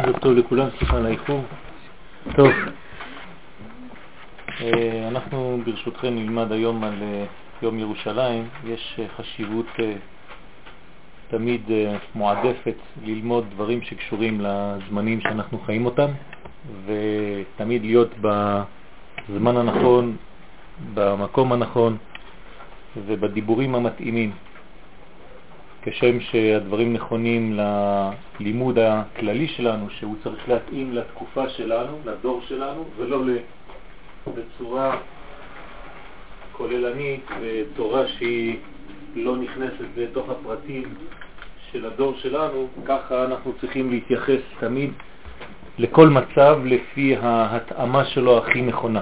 ערב טוב לכולם, סליחה על האיחור. טוב, אנחנו ברשותכם נלמד היום על יום ירושלים. יש חשיבות תמיד מועדפת ללמוד דברים שקשורים לזמנים שאנחנו חיים אותם, ותמיד להיות בזמן הנכון, במקום הנכון ובדיבורים המתאימים, כשם שהדברים נכונים ללימוד הכללי שלנו, שהוא צריך להתאים לתקופה שלנו, לדור שלנו, ולא בצורה כוללנית ותורה שהיא לא נכנסת לתוך הפרטים של הדור שלנו. ככה אנחנו צריכים להתייחס תמיד לכל מצב לפי ההתאמה שלו הכי נכונה.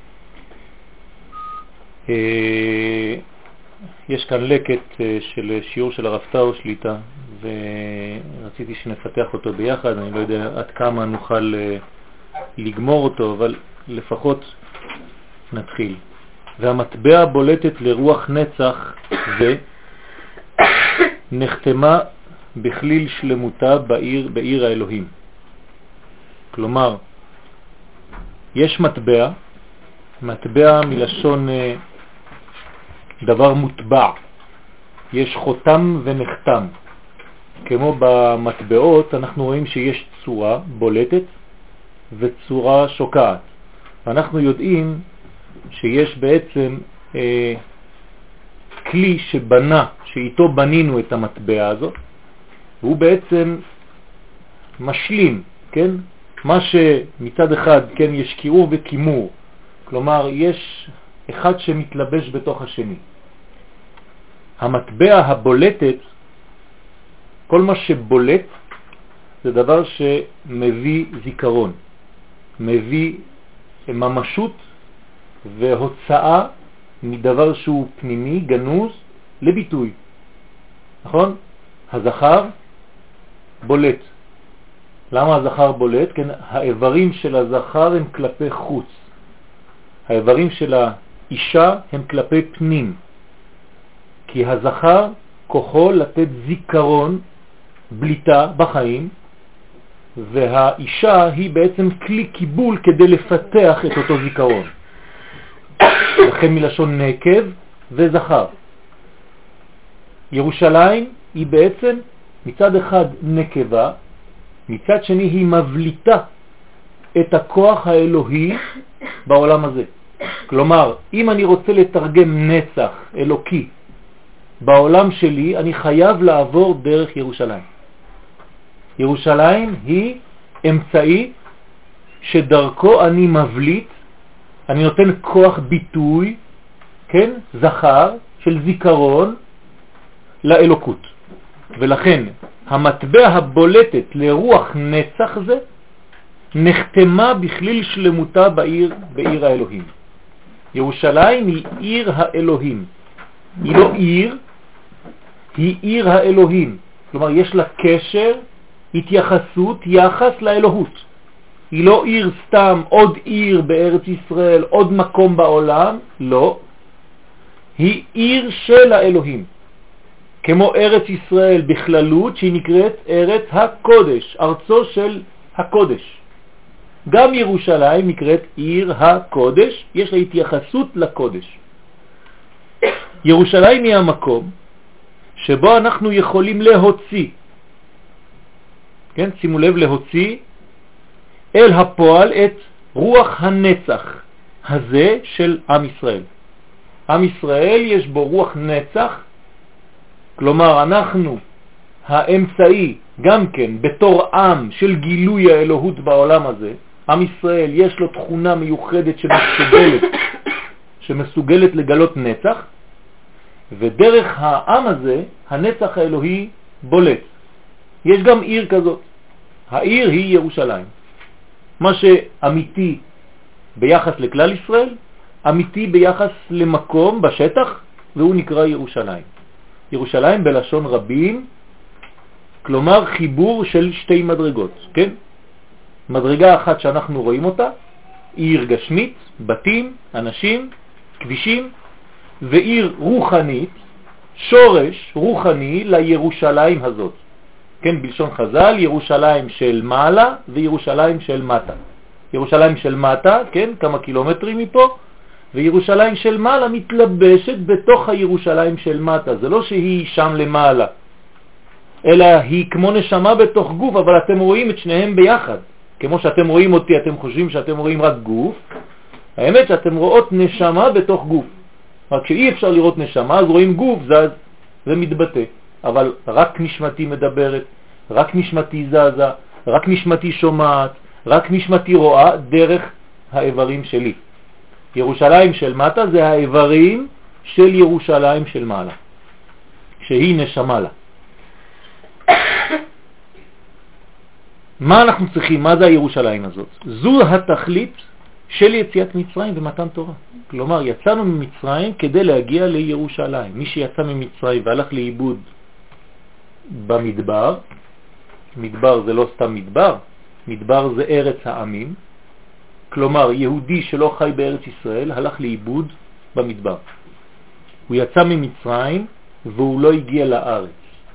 יש כאן לקט של שיעור של הרב טאו שליטה, ורציתי שנפתח אותו ביחד. אני לא יודע עד כמה נוכל לגמור אותו, אבל לפחות נתחיל. והמטבע בולטת לרוח נצח זה נחתמה בכליל שלמותה בעיר האלוהים. כלומר, יש מטבע מלשון דבר מוטבע, יש חותם ונחתם. כמו במטבעות אנחנו רואים שיש צורה בולטת וצורה שוקעת, ואנחנו יודעים שיש בעצם כלי שאיתו בנינו את המטבע הזאת, והוא בעצם משלים, כן? מה שמצד אחד, כן, יש קירור וקימור, כלומר יש אחד שמתלבש בתוך השני. המטבע הבולטת, כל מה שבולט זה דבר שמביא זיכרון, מביא ממשות והוצאה מדבר שהוא פנימי, גנוז, לביטוי. נכון? הזכר בולט. למה הזכר בולט? כן, האיברים של הזכר הם כלפי חוץ. האיברים של האישה הם כלפי פנים. כי הזכר כוחו לתת זיכרון, בליטה בחיים, והאישה היא בעצם כלי קיבול כדי לפתח את אותו זיכרון. לכן מלשון נקב וזכר. ירושלים היא בעצם מצד אחד נקבה, מצד שני היא מבליטה את הכוח האלוהי בעולם הזה. כלומר, אם אני רוצה לתרגם נצח אלוקי בעולם שלי, אני חייב לעבור דרך ירושלים. ירושלים היא אמצעי שדרכו אני מבליט, אני נותן כוח ביטוי, כן, זכר של זיכרון לאלוקות. ולכן המטבע הבולטת לרוח נצח זה נחתמה בכליל שלמותה בעיר האלוהים. ירושלים היא עיר האלוהים. היא לא עיר, היא עיר האלוהים. כלומר, יש לה קשר, התייחסות, יחס לאלוהות. היא לא עיר סתם, עוד עיר בארץ ישראל, עוד מקום בעולם, לא. היא עיר של האלוהים. כמו ארץ ישראל בכללות, שהיא נקראת ארץ הקודש, ארצו של הקודש. גם ירושלים נקראת עיר הקודש, יש לה התייחסות לקודש. ירושלים היא המקום שבו אנחנו יכולים להוציא, כן, שימו לב, להוציא אל הפועל את רוח הנצח הזה של עם ישראל. עם ישראל יש בו רוח נצח, כלומר אנחנו האמצעי גם כן בתור עם של גילוי האלוהות בעולם הזה. עם ישראל יש לו תכונה מיוחדת שמסוגלת לגלות נצח, ודרך העם הזה הנצח האלוהי בולט. יש גם עיר כזאת, העיר היא ירושלים. מה שאמיתי ביחס לכלל ישראל, אמיתי ביחס למקום בשטח, והוא נקרא ירושלים. ירושלים בלשון רבים, כלומר חיבור של שתי מדרגות, כן? מדרגה אחת שאנחנו רואים אותה, עיר גשמית, בתים, אנשים, כבישים, ועיר רוחנית, שורש רוחני לירושלים הזאת. כן, בלשון חז"ל, ירושלים של מעלה וירושלים של מטה. ירושלים של מטה, כן, כמה קילומטרים מפה, וירושלים של מעלה מתלבשת בתוך הירושלים של מטה. זה לא שהיא שם למעלה, אלא היא כמו נשמה בתוך גוף, אבל אתם רואים את שניהם ביחד. כמו שאתם רואים אותי, אתם חושבים שאתם רואים רק גוף, האמת שאתם רואות נשמה בתוך גוף. רק שאי אפשר לראות נשמה, אז רואים גוף, זה מתבטא. אבל רק נשמתי מדברת, רק נשמתי זזה, רק נשמתי שומעת, רק נשמתי רואה דרך האיברים שלי. ירושלים של מטה זה האיברים של ירושלים של מעלה, שהיא נשמה לה. מה אנחנו צריכים? מה זה הירושלים הזאת? זו התכלית של יציאת מצרים ומתן תורה. כלומר, יצאנו ממצרים כדי להגיע לירושלים. מי שיצא ממצרים והלך לאיבוד במדבר, מדבר זה לא סתם מדבר, מדבר זה ארץ העמים, כלומר יהודי שלא חי בארץ ישראל הלך לאיבוד במדבר. הוא יצא ממצרים והוא לא הגיע לארץ.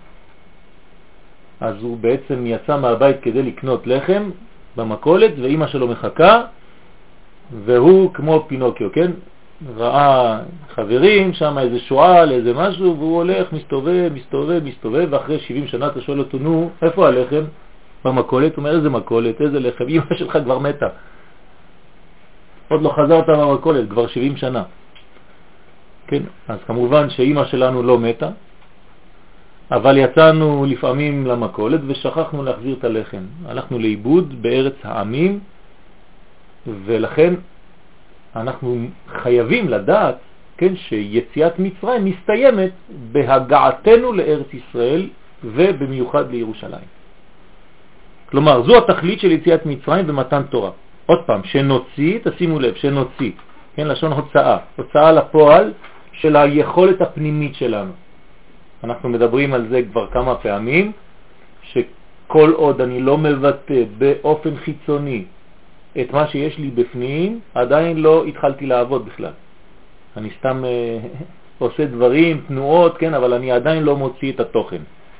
אז הוא בעצם יצא מהבית כדי לקנות לחם במכולת, ואמא שלו מחכה, והוא כמו פינוקיו, כן? ראה חברים, שם איזה שועל, איזה משהו, והוא הולך, מסתובב, ואחרי 70 שנה אתה שואל אותו, נו, איפה הלחם? במכולת. הוא אומר, איזה מכולת, איזה לחם? אמא שלך כבר מתה. עוד לא חזרת במכולת, כבר 70 שנה. כן? אז כמובן שאמא שלנו לא מתה, אבל יצאנו לפעמים למכולת ושכחנו להחזיר את הלחם. הלכנו לאיבוד בארץ העמים, ולכן אנחנו חייבים לדעת, כן, שיציאת מצרים מסתיימת בהגעתנו לארץ ישראל ובמיוחד לירושלים. כלומר, זו התכלית של יציאת מצרים ומתן תורה. עוד פעם, שנוציא, תשימו לב, שנוציא, כן, לשון הוצאה, הוצאה לפועל של היכולת הפנימית שלנו. אנחנו מדברים על זה כבר כמה פעמים, שכל עוד אני לא מבטא באופן חיצוני את מה שיש לי בפנים, עדיין לא התחלתי לעבוד בכלל. אני סתם עושה דברים, תנועות, כן, אבל אני עדיין לא מוציא את התוכן.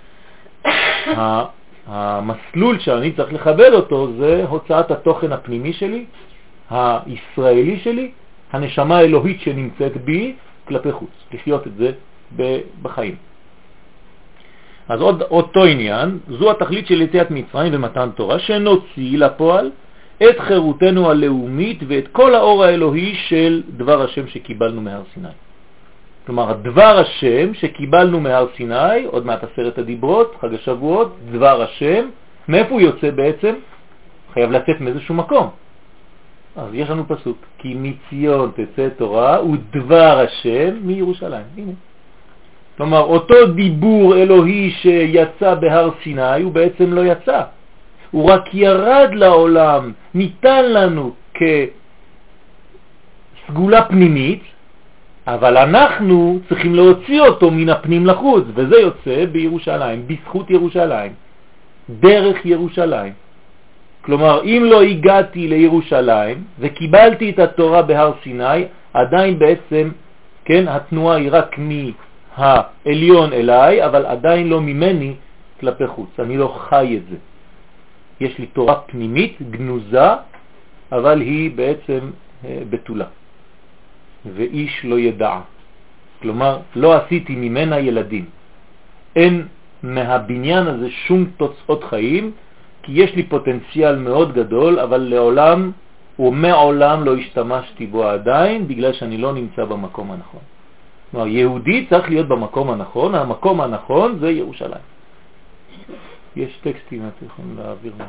המסלול שאני צריך לכבד אותו זה הוצאת התוכן הפנימי שלי, הישראלי שלי, הנשמה האלוהית שנמצאת בי כלפי חוץ, לחיות את זה בחיים. אז אותו עניין, זו התכלית של יציאת מצרים ומתן תורה, שנוציא לפועל את חירותנו הלאומית ואת כל האור האלוהי של דבר השם שקיבלנו מהר סיני. כלומר, דבר השם שקיבלנו מהר סיני, עוד מעט 10 הדיברות, חג השבועות, דבר השם, מאיפה הוא יוצא בעצם? חייב לצאת מאיזשהו מקום. אז יש לנו פסוק, כי מציון תצא תורה ודבר השם מירושלים. הנה. כלומר, אותו דיבור אלוהי שיצא בהר סיני, הוא בעצם לא יצא. הוא רק ירד לעולם, ניתן לנו כסגולה פנימית, אבל אנחנו צריכים להוציא אותו מן הפנים לחוץ, וזה יוצא בירושלים, בזכות ירושלים, דרך ירושלים. כלומר, אם לא הגעתי לירושלים וקיבלתי את התורה בהר סיני, עדיין בעצם, כן, התנועה היא רק מהעליון אליי, אבל עדיין לא ממני כלפי חוץ. אני לא חי את זה. יש לי תורה פנימית, גנוזה, אבל היא בעצם בתולה. ואיש לא ידע. כלומר, לא עשיתי ממנה ילדים. אין מהבניין הזה שום תוצאות חיים, כי יש לי פוטנציאל מאוד גדול, אבל לעולם ומעולם לא השתמשתי בו עדיין, בגלל שאני לא נמצא במקום הנכון. כלומר, יהודי צריך להיות במקום הנכון, המקום הנכון זה ירושלים. יש טקסטים, אתם יכולים להעביר מה.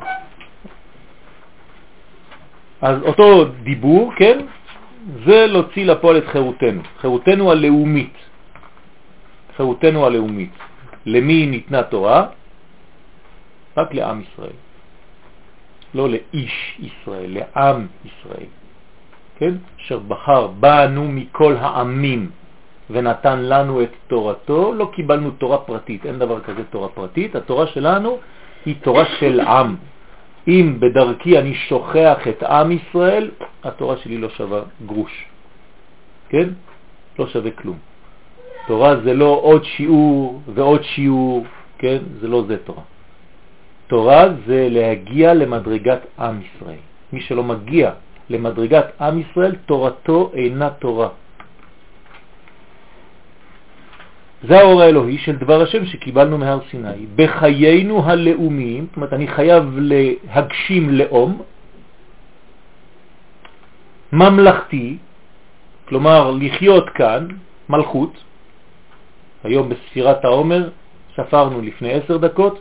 אז אותו דיבור, כן, זה להוציא לפועל את חירותנו, חירותנו הלאומית. חירותנו הלאומית. למי ניתנה תורה? רק לעם ישראל. לא לאיש ישראל, לעם ישראל. כן? אשר בחר בנו מכל העמים ונתן לנו את תורתו. לא קיבלנו תורה פרטית, אין דבר כזה תורה פרטית. התורה שלנו היא תורה של עם. אם בדרכי אני שוכח את עם ישראל, התורה שלי לא שווה גרוש. כן? לא שווה כלום. תורה זה לא עוד שיעור ועוד שיעור, כן? זה לא זה תורה. תורה זה להגיע למדרגת עם ישראל. מי שלא מגיע למדרגת עם ישראל, תורתו אינה תורה. זה האור האלוהי של דבר השם שקיבלנו מהר סיני. בחיינו הלאומיים, זאת אומרת אני חייב להגשים לאום, ממלכתי, כלומר לחיות כאן, מלכות. היום בספירת העומר ספרנו לפני 10 דקות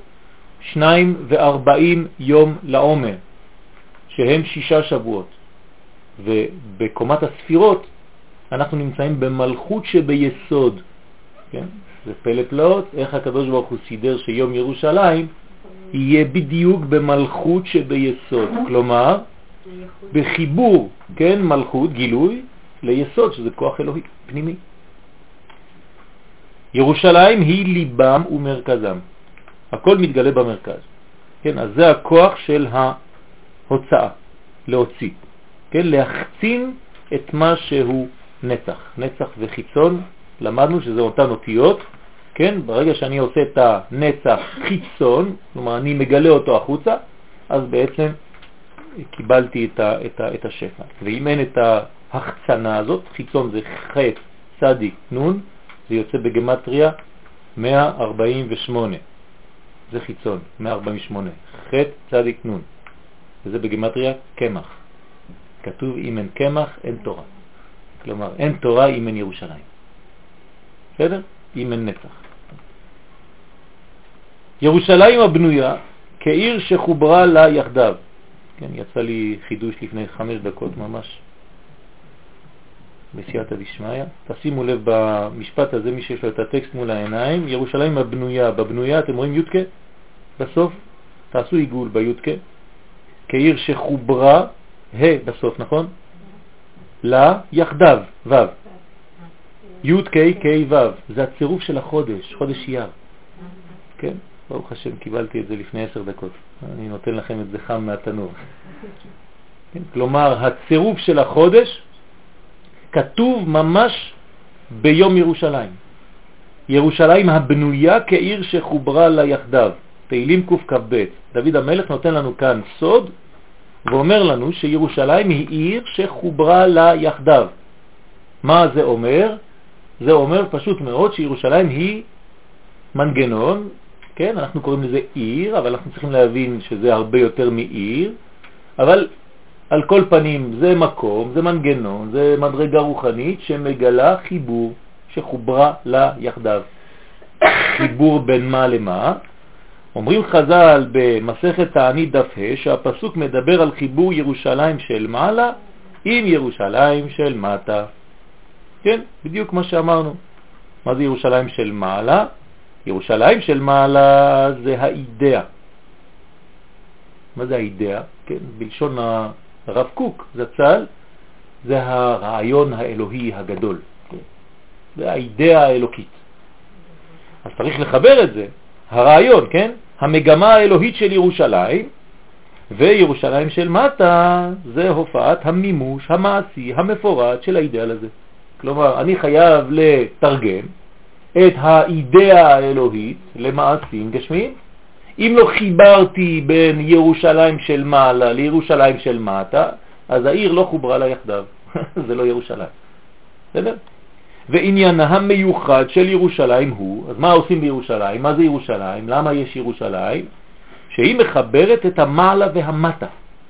42 יום לעומר, שהם 6 שבועות. ובקומת הספירות אנחנו נמצאים במלכות שביסוד. כן? זה פלא פלאות, איך הקדוש ברוך הוא סידר שיום ירושלים יהיה בדיוק במלכות שביסוד. כלומר, בחיבור, כן, מלכות, גילוי, ליסוד, שזה כוח אלוהי פנימי. ירושלים היא ליבם ומרכזם. הכל מתגלה במרכז. כן, אז זה הכוח של ההוצאה, להוציא. כן, להחצין את מה שהוא נצח. נצח וחיצון, למדנו שזה אותן אותיות. כן, ברגע שאני עושה את הנצח חיצון, כלומר אני מגלה אותו החוצה, אז בעצם קיבלתי את השפע. ואם אין את ההחצנה הזאת, חיצון זה ח' צדיק נון, זה יוצא בגמטריה 148. זה חיצון, 148. ח' צדיק נון. וזה בגמטריה קמח. כתוב אם אין קמח אין תורה. כלומר אין תורה אם אין ירושלים. בסדר? אם אין נצח. ירושלים הבנויה כעיר שחוברה לה יחדיו. כן, יצא לי חידוש לפני 5 דקות ממש בסייעתא דשמיא. תשימו לב במשפט הזה, מי שיש לו את הטקסט מול העיניים, ירושלים הבנויה. בבנויה אתם רואים יודקה בסוף, תעשו עיגול ביודקה, כעיר שחוברה בסוף, נכון? לה יחדיו, ו' י' ק' ק' ו', זה הצירוף של החודש, חודש אייר. כן? ברוך השם, קיבלתי את זה לפני 10 דקות. אני נותן לכם את זה חם מהתנור. כן? כלומר, הצירוף של החודש כתוב ממש ביום ירושלים. ירושלים הבנויה כעיר שחוברה לה יחדיו. תהילים קכ"ב. דוד המלך נותן לנו כאן סוד, ואומר לנו שירושלים היא עיר שחוברה לה יחדיו. מה זה אומר? זה אומר פשוט מאוד שירושלים היא מנגנון, כן? אנחנו קוראים לזה עיר, אבל אנחנו צריכים להבין שזה הרבה יותר מעיר, אבל על כל פנים זה מקום, זה מנגנון, זה מדרגה רוחנית שמגלה חיבור שחוברה לה יחדיו. חיבור בין מה למה? אומרים חז"ל במסכת תענית דף ה' שהפסוק מדבר על חיבור ירושלים של מעלה עם ירושלים של מטה. כן, בדיוק מה שאמרנו. מה זה ירושלים של מעלה? ירושלים של מעלה זה האידאה. מה זה האידאה? כן, בלשון הרב קוק זצ"ל, זה הרעיון האלוהי הגדול. זה האידאה האלוקית. אז צריך לחבר את זה. הרעיון, כן? המגמה האלוהית של ירושלים, וירושלים של מטה זה הופעת המימוש המעשי המפורט של האידאל הזה. כלומר, אני חייב לתרגם את האידאה האלוהית למעשים גשמיים. אם לא חיברתי בין ירושלים של מעלה לירושלים של מטה, אז העיר לא חוברה לה יחדיו. זה לא ירושלים. בסדר? ועניינה המיוחד של ירושלים הוא, אז מה עושים בירושלים? מה זה ירושלים? למה יש ירושלים? שהיא מחברת את המעלה והמטה.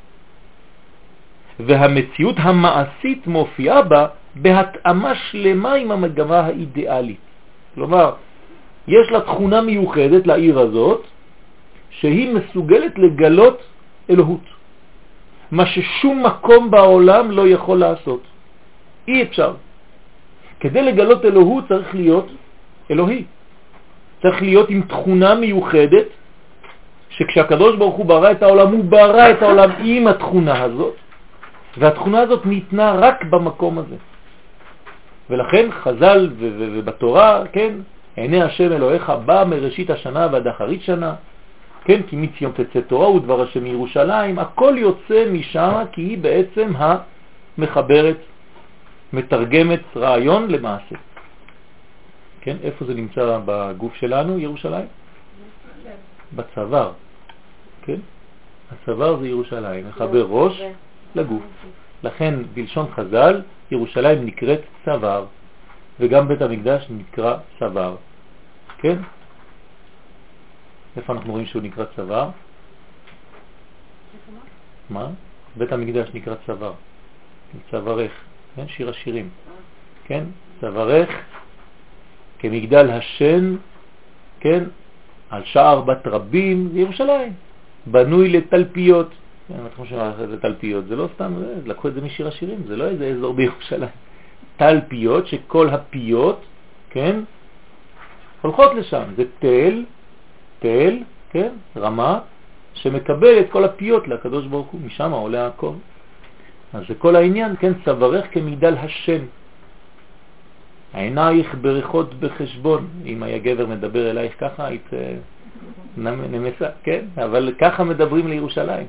והמציאות המעשית מופיעה בה בהתאמה שלמה עם המגמה האידיאלית. כלומר, יש לה תכונה מיוחדת לעיר הזאת, שהיא מסוגלת לגלות אלוהות. מה ששום מקום בעולם לא יכול לעשות. אי אפשר. כדי לגלות אלוהות צריך להיות אלוהי. צריך להיות עם תכונה מיוחדת, שכשהקדוש ברוך הוא ברא את העולם, הוא ברא את העולם עם התכונה הזאת, והתכונה הזאת ניתנה רק במקום הזה. ולכן חז"ל ובתורה, כן, עיני השם אלוהיך בא מראשית השנה ועד אחרית שנה, כן, כי מציון תצא תורה ודבר השם מירושלים, הכל יוצא משם, כי היא בעצם המחברת, מתרגמת רעיון למעשה. כן, איפה זה נמצא בגוף שלנו, ירושלים? בצוואר. כן? הצוואר זה ירושלים, מחבר ראש לגוף. לכן בלשון חז"ל ירושלים נקראת צוואר, וגם בית המקדש נקרא צוואר, כן? איפה אנחנו רואים שהוא נקרא צוואר? מה? בית המקדש נקרא צוואר, צווארך, כן? שיר השירים, כן? צווארך כמגדל השן, כן? על שער בת רבים, ירושלים, בנוי לתלפיות. אנחנו חושבים על תלפיות, זה לא סתם, לקחו את זה משיר השירים, זה לא איזה אזור בירושלים. תלפיות, שכל הפיות, כן, הולכות לשם. זה תל, כן, רמה, שמקבל את כל הפיות לקדוש ברוך הוא, משם עולה הכל. אז זה כל העניין, כן, צווארך כמגדל השן. העינייך בריחות בחשבון. אם היה גבר מדבר אלייך ככה, היית נמסה, כן? אבל ככה מדברים לירושלים.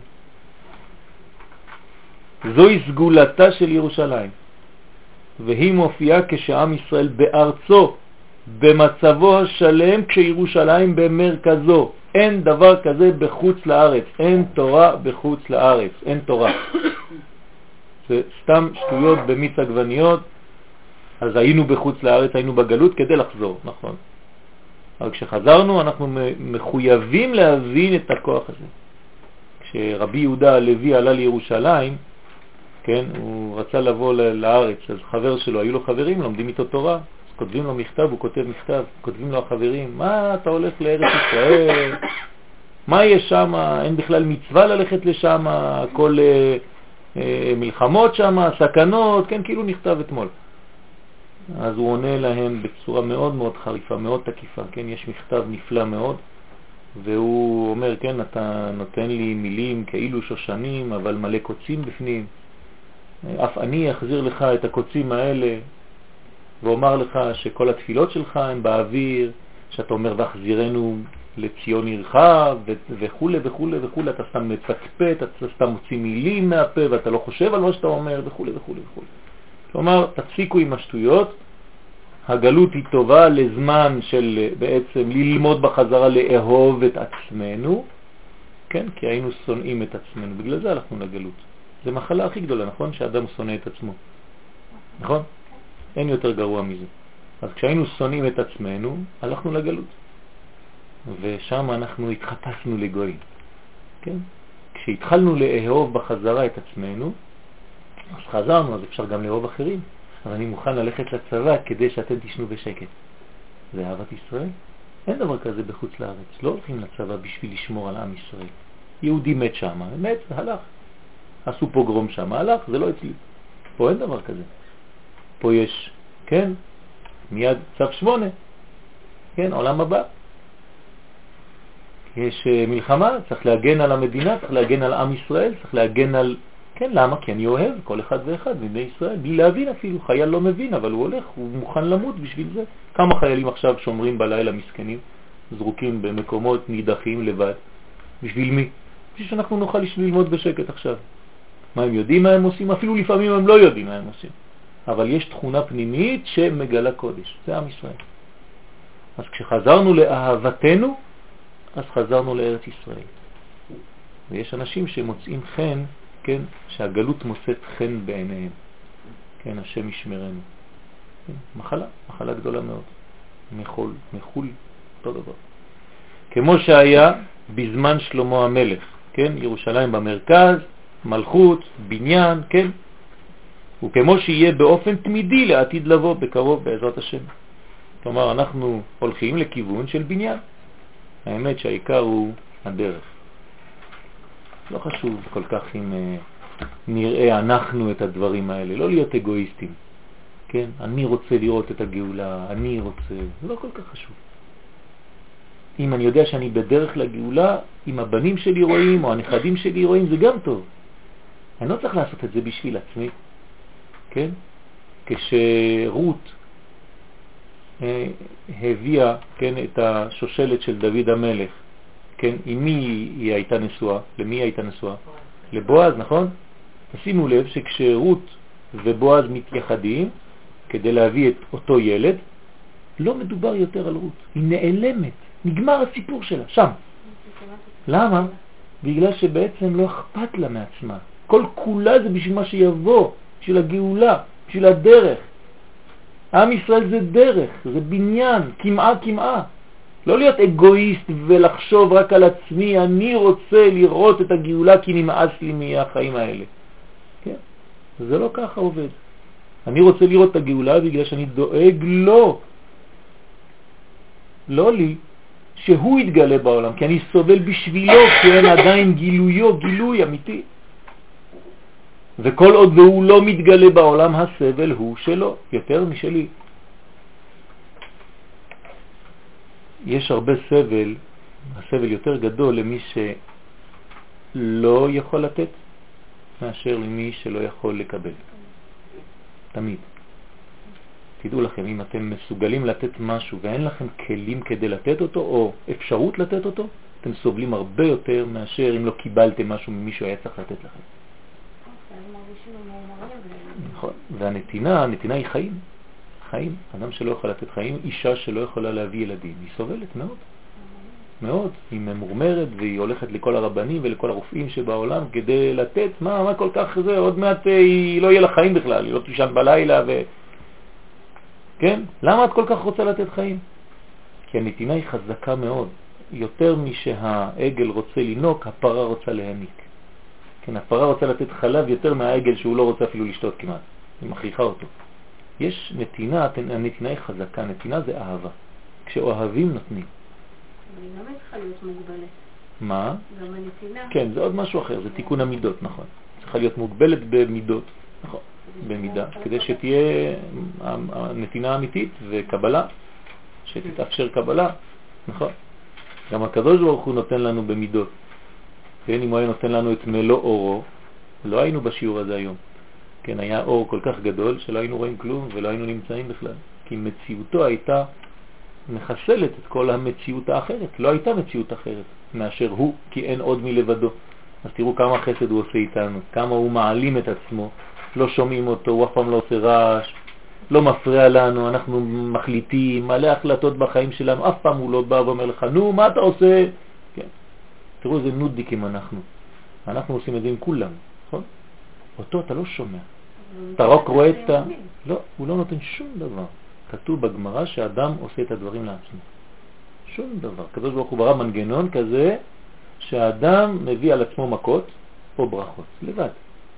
זוהי סגולתה של ירושלים. והיא מופיעה כשעם ישראל בארצו, במצבו השלם, כשירושלים במרכזו. אין דבר כזה בחוץ לארץ. אין תורה בחוץ לארץ. אין תורה. זה סתם שטויות במיץ עגבניות. אז היינו בחוץ לארץ, היינו בגלות כדי לחזור, נכון. אבל כשחזרנו אנחנו מחויבים להבין את הכוח הזה. כשרבי יהודה הלוי עלה לירושלים, כן, הוא רצה לבוא לארץ, אז חבר שלו, היו לו חברים, לומדים איתו תורה, אז כותבים לו מכתב, הוא כותב מכתב, כותבים לו החברים, מה אתה הולך לארץ ישראל? מה יש שם? אין בכלל מצווה ללכת לשם, כל מלחמות שם, סכנות, כן, כאילו נכתב אתמול. אז הוא עונה להם בצורה מאוד מאוד חריפה, מאוד תקיפה, כן, יש מכתב נפלא מאוד, והוא אומר, כן, אתה נותן לי מילים כאילו שושנים, אבל מלא קוצים בפנים, אף אני אחזיר לך את הקוצים האלה, ואומר לך שכל התפילות שלך הן באוויר, שאתה אומר והחזירנו לציון עירך וכו' וכו' וכו', אתה סתם מצפצפת, אתה סתם מוציא מילים מהפה ואתה לא חושב על מה שאתה אומר וכו' וכו' וכו'. כלומר, תפסיקו עם השטויות, הגלות היא טובה לזמן של בעצם ללמוד בחזרה לאהוב את עצמנו, כן? כי היינו שונאים את עצמנו, בגלל זה הלכנו לגלות. זה מחלה הכי גדולה, נכון? שאדם שונא את עצמו, נכון? אין יותר גרוע מזה. אז כשהיינו שונאים את עצמנו, הלכנו לגלות. ושם אנחנו התחפשנו לגויים, כן? כשהתחלנו לאהוב בחזרה את עצמנו, אז חזרנו, אז אפשר גם לאהוב אחרים. אבל אני מוכן ללכת לצבא כדי שאתם תשנו בשקט. זה אהבת ישראל? אין דבר כזה בחוץ לארץ. לא הולכים לצבא בשביל לשמור על עם ישראל. יהודי מת שם, מת, הלך. עשו פוגרום שם, הלך, זה לא אצלי. פה אין דבר כזה. פה יש, כן, מיד צו 8, כן, עולם הבא. יש מלחמה, צריך להגן על המדינה, צריך להגן על עם ישראל, צריך להגן על... כן, למה? כי אני אוהב כל אחד ואחד מבני ישראל, בלי להבין אפילו. חייל לא מבין, אבל הוא הולך, הוא מוכן למות בשביל זה. כמה חיילים עכשיו שומרים בלילה מסכנים, זרוקים במקומות נידחים לבד. בשביל מי? בשביל שאנחנו נוכל ללמוד בשקט עכשיו. מה הם יודעים מה הם עושים? אפילו לפעמים הם לא יודעים מה הם עושים. אבל יש תכונה פנימית שמגלה קודש. זה עם ישראל. אז כשחזרנו לאהבתנו, אז חזרנו לארץ ישראל. ויש אנשים שמוצאים חן, כן, שהגלות מוצאת חן בעיניהם. כן, השם ישמרנו. כן, מחלה גדולה מאוד. מחול, אותו דבר. כמו שהיה בזמן שלמה המלך, כן, ירושלים במרכז, מלכות, בניין, כן, וכמו שיהיה באופן תמידי לעתיד לבוא בקרוב בעזרת השם. כלומר, אנחנו הולכים לכיוון של בניין. האמת שהעיקר הוא הדרך. לא חשוב כל כך אם נראה אנחנו את הדברים האלה, לא להיות אגואיסטים, כן? אני רוצה לראות את הגאולה, אני רוצה, זה לא כל כך חשוב. אם אני יודע שאני בדרך לגאולה, אם הבנים שלי רואים או הנכדים שלי רואים, זה גם טוב. אני לא צריך לעשות את זה בשביל עצמי, כן? כשרות הביאה, כן, את השושלת של דוד המלך, כן, עם מי היא הייתה נשואה? למי היא הייתה נשואה? לבועז, נכון? תשימו לב שכשרות ובועז מתייחדים כדי להביא את אותו ילד, לא מדובר יותר על רות, היא נעלמת, נגמר הסיפור שלה, שם. למה? בגלל שבעצם לא אכפת לה מעצמה. כל כולה זה בשביל מה שיבוא, בשביל הגאולה, בשביל הדרך. עם ישראל זה דרך, זה בניין, כמעה. לא להיות אגואיסט ולחשוב רק על עצמי, אני רוצה לראות את הגאולה כי נמאס לי מהחיים האלה. כן? זה לא ככה עובד. אני רוצה לראות את הגאולה בגלל שאני דואג לו, לא לי, שהוא יתגלה בעולם, כי אני סובל בשבילו, כי אין עדיין גילוי אמיתי. וכל עוד והוא לא מתגלה בעולם, הסבל הוא שלו, יותר משלי. יש הרבה סבל, הסבל יותר גדול למי שלא יכול לתת, מאשר למי שלא יכול לקבל. תמיד. תדעו לכם, אם אתם מסוגלים לתת משהו ואין לכם כלים כדי לתת אותו, או אפשרות לתת אותו, אתם סובלים הרבה יותר מאשר אם לא קיבלתם משהו ממישהו היה צריך לתת לכם. נכון. והנתינה היא חיים. חיים. אדם שלא יכול לתת חיים, אישה שלא יכולה להביא ילדים, היא סובלת מאוד. מאוד. היא ממורמרת והיא הולכת לכל הרבנים ולכל הרופאים שבעולם כדי לתת, מה כל כך זה, עוד מעט היא לא יהיה לה חיים בכלל, היא לא תישן בלילה כן? למה את כל כך רוצה לתת חיים? כי הנתינה היא חזקה מאוד. יותר משהעגל רוצה לנוק, הפרה רוצה להניק. כן, הפרה רוצה לתת חלב יותר מהעגל שהוא לא רוצה אפילו לשתות כמעט. היא מכריחה אותו. יש נתינה, הנתינה היא חזקה, נתינה זה אהבה. כשאוהבים נותנים. היא גם צריכה להיות מוגבלת. מה? גם הנתינה. כן, זה עוד משהו אחר, זה תיקון המידות, נכון. צריכה להיות מוגבלת במידות, נכון, במידה, כדי שתהיה הנתינה אמיתית וקבלה, שתתאפשר קבלה, נכון. גם הקדוש ברוך הוא נותן לנו במידות. כן, אם הוא היה נותן לנו את מלוא אורו, לא היינו בשיעור הזה היום. כן, היה אור כל כך גדול שלא היינו רואים כלום ולא היינו נמצאים בכלל. כי מציאותו הייתה מחסלת את כל המציאות האחרת. לא הייתה מציאות אחרת מאשר הוא, כי אין עוד מלבדו. אז תראו כמה חסד הוא עושה איתנו, כמה הוא מעלים את עצמו, לא שומעים אותו, הוא אף פעם לא עושה רעש, לא מפריע לנו, אנחנו מחליטים, מלא החלטות בחיים שלנו, אף פעם הוא לא בא ואומר לך, נו, מה אתה עושה? כן. תראו איזה נודניקים אנחנו עושים את זה עם כולם, נכון? אותו אתה לא שומע. אתה רק רואה את ה... לא, הוא לא נותן שום דבר. כתוב בגמרא שהאדם עושה את הדברים לעצמו. שום דבר. הקדוש ברוך הוא ברא מנגנון כזה שהאדם מביא על עצמו מכות או ברכות, לבד.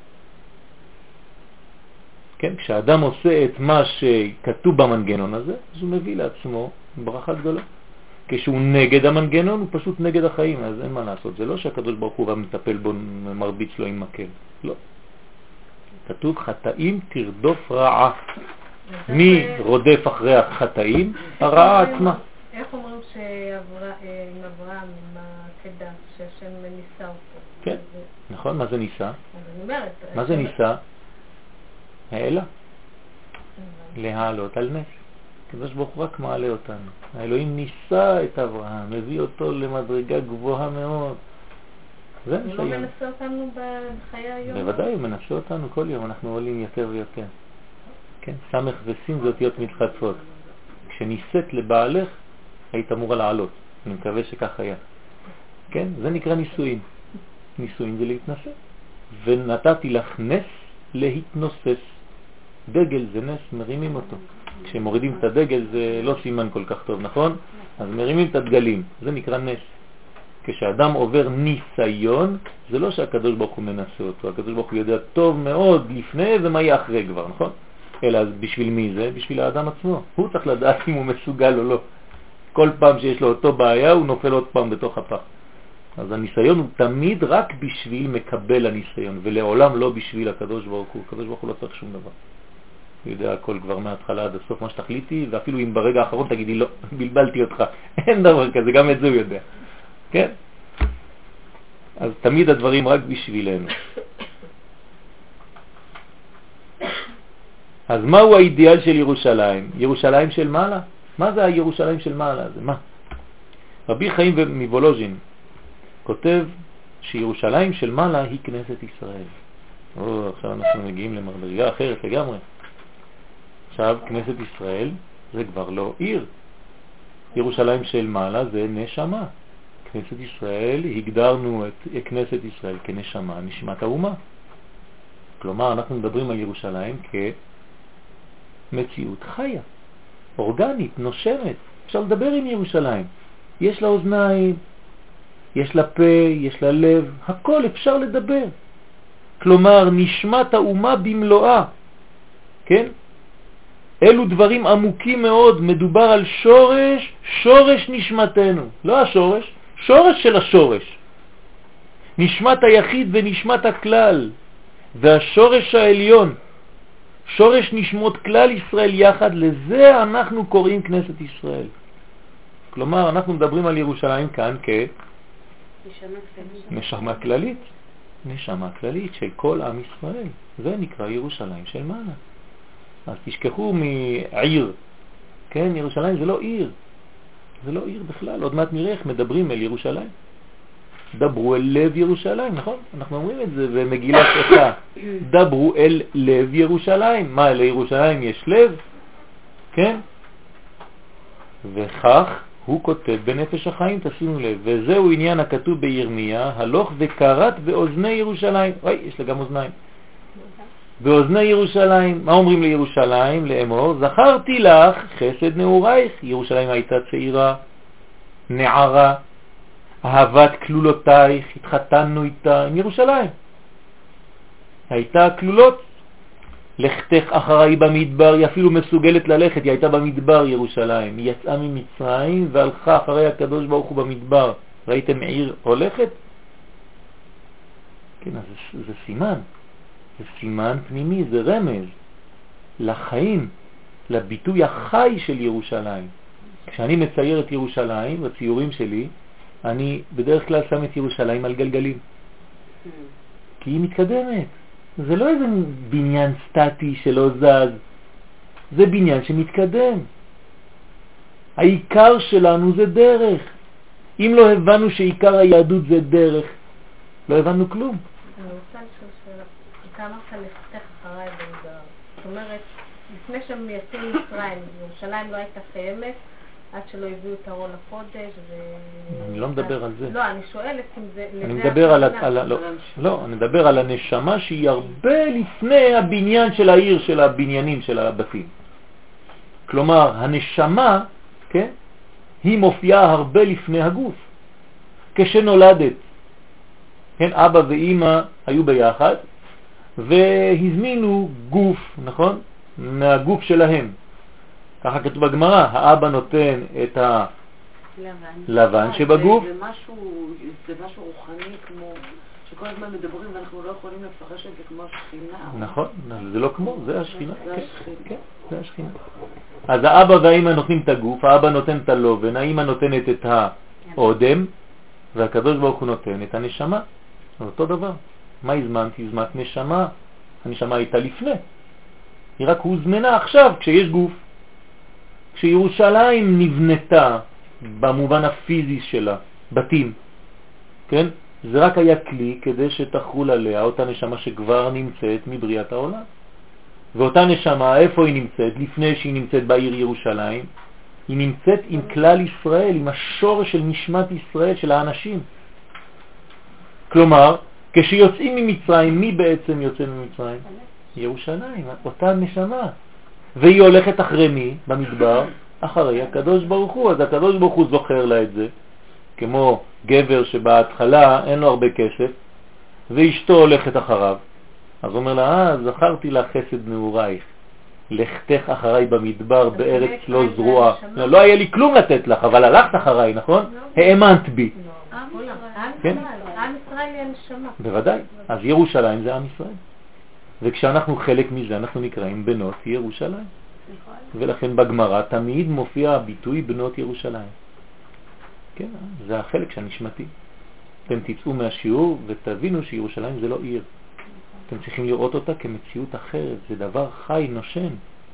כן, כשאדם עושה את מה שכתוב במנגנון הזה, אז הוא מביא לעצמו ברכה גדולה. כשהוא נגד המנגנון, הוא פשוט נגד החיים, אז אין מה לעשות. זה לא שהקדוש ברוך הוא מטפל בו, מרביץ לו עם מקל. לא. כתוב חטאים תרדוף רעה. מי רודף אחרי החטאים? הרעה עצמה. איך אומרים עם אברהם, עם העקדה, שהשם ניסה אותו? כן, נכון, מה זה ניסה? אני אומרת. מה זה ניסה? העלה. להעלות על נס. הקדוש ברוך הוא רק מעלה אותנו. האלוהים ניסה את אברהם, מביא אותו למדרגה גבוהה מאוד. זה הוא לא מנסה אותנו בחיי היום? בוודאי, הוא מנסה אותנו כל יום, אנחנו עולים יותר ויותר. כן, סמך וסין זה אותיות מתחדפות. כשניסית לבעלך, היית אמורה לעלות. אני מקווה שכך היה. כן, זה נקרא ניסויים. ניסויים זה להתנסה. ונתתי לך נס להתנוסס. דגל זה נס, מרימים אותו. כשמורידים את הדגל זה לא סימן כל כך טוב, נכון? אז מרימים את הדגלים, זה נקרא נס. כשאדם עובר ניסיון, זה לא שהקדוש ברוך הוא מנסה אותו, הקדוש ברוך הוא יודע טוב מאוד לפני ומה יהיה אחרי כבר, נכון? אלא בשביל מי זה? בשביל האדם עצמו. הוא צריך לדעת אם הוא מסוגל או לא. כל פעם שיש לו אותו בעיה, הוא נופל עוד פעם בתוך הפח. אז הניסיון הוא תמיד רק בשביל מקבל הניסיון, ולעולם לא בשביל הקדוש ברוך הוא. הקדוש ברוך הוא לא צריך שום דבר. הוא יודע הכל כבר מההתחלה עד הסוף מה שתחליטי, ואפילו אם ברגע האחרון תגידי לא, בלבלתי אותך. אין דבר כזה, גם את זה הוא יודע. כן? אז תמיד הדברים רק בשבילנו. אז מהו האידיאל של ירושלים? ירושלים של מעלה? מה זה הירושלים של מעלה? זה מה? רבי חיים מבולוז'ין כותב שירושלים של מעלה היא כנסת ישראל. עכשיו אנחנו מגיעים למדרגה אחרת לגמרי. עכשיו כנסת ישראל זה כבר לא עיר. ירושלים של מעלה זה נשמה. כנסת ישראל, הגדרנו את כנסת ישראל כנשמה, נשמת האומה. כלומר, אנחנו מדברים על ירושלים כמציאות חיה, אורגנית, נושמת. אפשר לדבר עם ירושלים. יש לה אוזניים, יש לה פה, יש לה לב, הכל אפשר לדבר. כלומר, נשמת האומה במלואה. כן? אלו דברים עמוקים מאוד, מדובר על שורש נשמתנו. לא השורש, שורש של השורש. נשמת היחיד ונשמת הכלל. והשורש העליון, שורש נשמות כלל ישראל יחד, לזה אנחנו קוראים כנסת ישראל. כלומר, אנחנו מדברים על ירושלים כאן נשמה כללית. נשמה כללית של כל עם ישראל. זה נקרא ירושלים של מעלה. אז תשכחו מעיר. כן, ירושלים זה לא עיר. זה לא עיר בכלל. עוד מעט נראה איך מדברים אל ירושלים. דברו אל לב ירושלים, נכון? אנחנו אומרים את זה במגילת איכה. דברו אל לב ירושלים. מה, לירושלים יש לב? כן? וכך הוא כותב בנפש החיים, תשימו לב. וזהו עניין הכתוב בירמיה, הלוך וקראת באוזני ירושלים. יש לה גם אוזניים. באוזני ירושלים. מה אומרים לירושלים? לאמור, זכרתי לך חסד נעורייך. ירושלים הייתה צעירה, נערה, אהבת כלולותייך, התחתנו איתה עם ירושלים. הייתה כלולות. לכתך אחריי במדבר, היא אפילו מסוגלת ללכת, היא הייתה במדבר ירושלים. היא יצאה ממצרים והלכה אחרי הקדוש ברוך הוא במדבר. ראיתם עיר הולכת? כן, אז זה סימן. זה סימן פנימי, זה רמז לחיים, לביטוי החי של ירושלים. כשאני מצייר את ירושלים, בציורים שלי, אני בדרך כלל שם את ירושלים על גלגלים. כי היא מתקדמת. זה לא איזה בניין סטטי שלא זז. זה בניין שמתקדם. העיקר שלנו זה דרך. אם לא הבנו שעיקר היהדות זה דרך, לא הבנו כלום. אני רוצה לשאול שאלה. אתה אמרת לכתך אחריי במדבר. זאת אומרת, לפני שהם יצאו מישראל, ירושלים לא הייתה קיימת, עד שלא הביאו את ארון הקודש. אני לא מדבר על זה. לא, אני שואלת אם זה... אני מדבר לא, אני מדבר על הנשמה שהיא הרבה לפני הבניין של העיר, של הבניינים, של הבתים. כלומר, הנשמה, כן, היא מופיעה הרבה לפני הגוף. כשנולדת, כן, אבא ואמא היו ביחד, והזמינו גוף, נכון? מהגוף שלהם. ככה כתוב בגמרא, האבא נותן את הלבן שבגוף. זה משהו רוחני כמו, שכל הזמן מדברים ואנחנו לא יכולים לפרש את זה כמו השכינה. נכון, זה לא כמו, זה השכינה. כן, זה השכינה. אז האבא והאמא נותנים את הגוף, האבא נותן את הלובן, האמא נותנת את האודם, והקדוש ברוך הוא נותן את הנשמה. אותו דבר. מה הזמנתי? הזמנת נשמה. הנשמה הייתה לפני. היא רק הוזמנה עכשיו כשיש גוף. כשירושלים נבנתה במובן הפיזי שלה, בתים, כן? זה רק היה כלי כדי שתחול עליה אותה נשמה שכבר נמצאת מבריאת העולם. ואותה נשמה, איפה היא נמצאת? לפני שהיא נמצאת בעיר ירושלים, היא נמצאת עם כלל ישראל, עם השורש של נשמת ישראל, של האנשים. כלומר, כשיוצאים ממצרים, מי בעצם יוצא ממצרים? ירושלים, אותה נשמה. והיא הולכת אחרי מי במדבר? אחרי הקדוש ברוך הוא. אז הקדוש ברוך הוא זוכר לה את זה, כמו גבר שבהתחלה אין לו הרבה כסף, ואשתו הולכת אחריו. אז הוא אומר לה, זכרתי לה חסד נעורייך, לכתך אחריי במדבר בארץ לא זרועה. לא היה לי כלום לתת לך, אבל הלכת אחריי, נכון? האמנת בי. עם ישראל היא הנשמה. בוודאי. אז ירושלים זה עם ישראל. וכשאנחנו חלק מזה, אנחנו נקראים בנות ירושלים. ולכן בגמרא תמיד מופיע הביטוי בנות ירושלים. כן, זה החלק שנשמתי. אתם תצאו מהשיעור ותבינו שירושלים זה לא עיר. אתם צריכים לראות אותה כמציאות אחרת. זה דבר חי, נושן.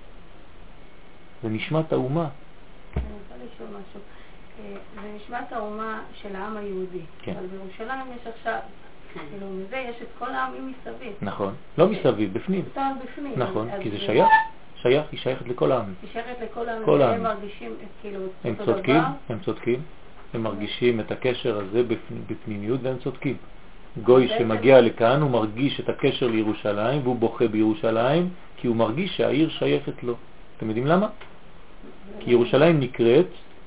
זה נשמת האומה. אני רוצה לשאול משהו. זה נשמת האומה של העם היהודי. כן. אבל בירושלים יש עכשיו... כאילו, מזה יש את כל העמים מסביב. נכון, לא מסביב, בפנים. בפנים. נכון, כי זה שייך, היא שייכת לכל העמים. היא שייכת לכל העמים, כל והם העמים. מרגישים כאילו הם אותו צודקים, דבר. הם צודקים. הם מרגישים את הקשר הזה בפנימיות והם צודקים. גוי שמגיע לכאן הוא מרגיש את הקשר לירושלים והוא בוכה בירושלים כי הוא מרגיש שהעיר שייכת לו. אתם יודעים למה? כי ירושלים נקראת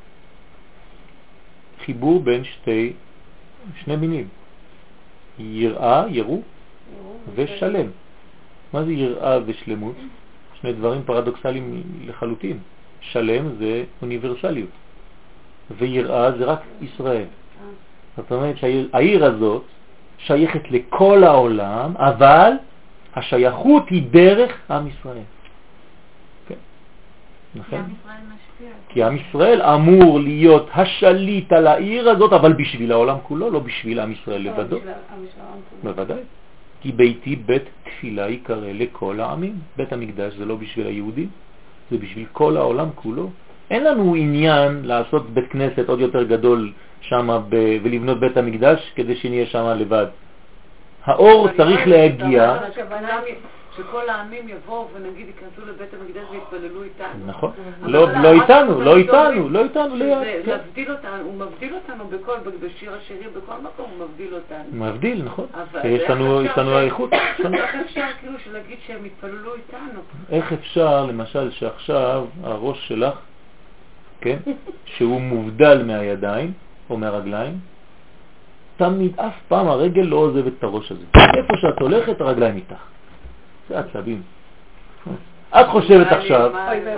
חיבור בין שני מינים. יראה, ירו ושלם. מה זה יראה ושלמות? שני דברים פרדוקסליים לחלוטין. שלם זה אוניברסליות ויראה זה רק ישראל. זאת אומרת שהעיר הזאת שייכת לכל העולם, אבל השייכות היא דרך עם ישראל. כן. נכון? כי עם ישראל אמור להיות השליט על העיר הזאת, אבל בשביל העולם כולו, לא בשביל עם ישראל לבדו. בוודאי. כי ביתי בית תפילה יקרא לכל העמים. בית המקדש זה לא בשביל היהודים, זה בשביל כל העולם כולו. אין לנו עניין לעשות בית כנסת עוד יותר גדול שם ולבנות בית המקדש כדי שנהיה שם לבד. האור צריך להגיע. שכל העמים יבואו ונגיד ייכנסו לבית המקדש ויתפללו איתנו. נכון. לא איתנו, ליד. הוא מבדיל אותנו בשיר השירים, בכל מקום הוא מבדיל אותנו. מבדיל, נכון. יש לנו האיכות. איך אפשר כאילו להגיד שהם יתפללו איתנו? איך אפשר למשל שעכשיו הראש שלך, כן, שהוא מובדל מהידיים או מהרגליים, תמיד אף פעם הרגל לא עוזבת את הראש הזה. איפה שאת הולכת הרגליים איתך. זה עצבים. את חושבת עכשיו,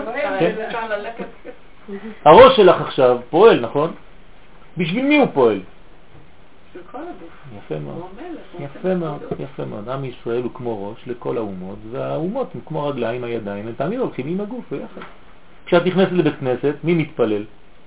הראש שלך עכשיו פועל, נכון? בשביל מי הוא פועל? יפה מאוד. יפה מאוד, יפה מאוד. עם ישראל הוא כמו ראש לכל האומות, והאומות הם כמו רגליים, הידיים, הם תמיד הולכים עם הגוף ביחד. כשאת נכנסת לבית כנסת, מי מתפלל?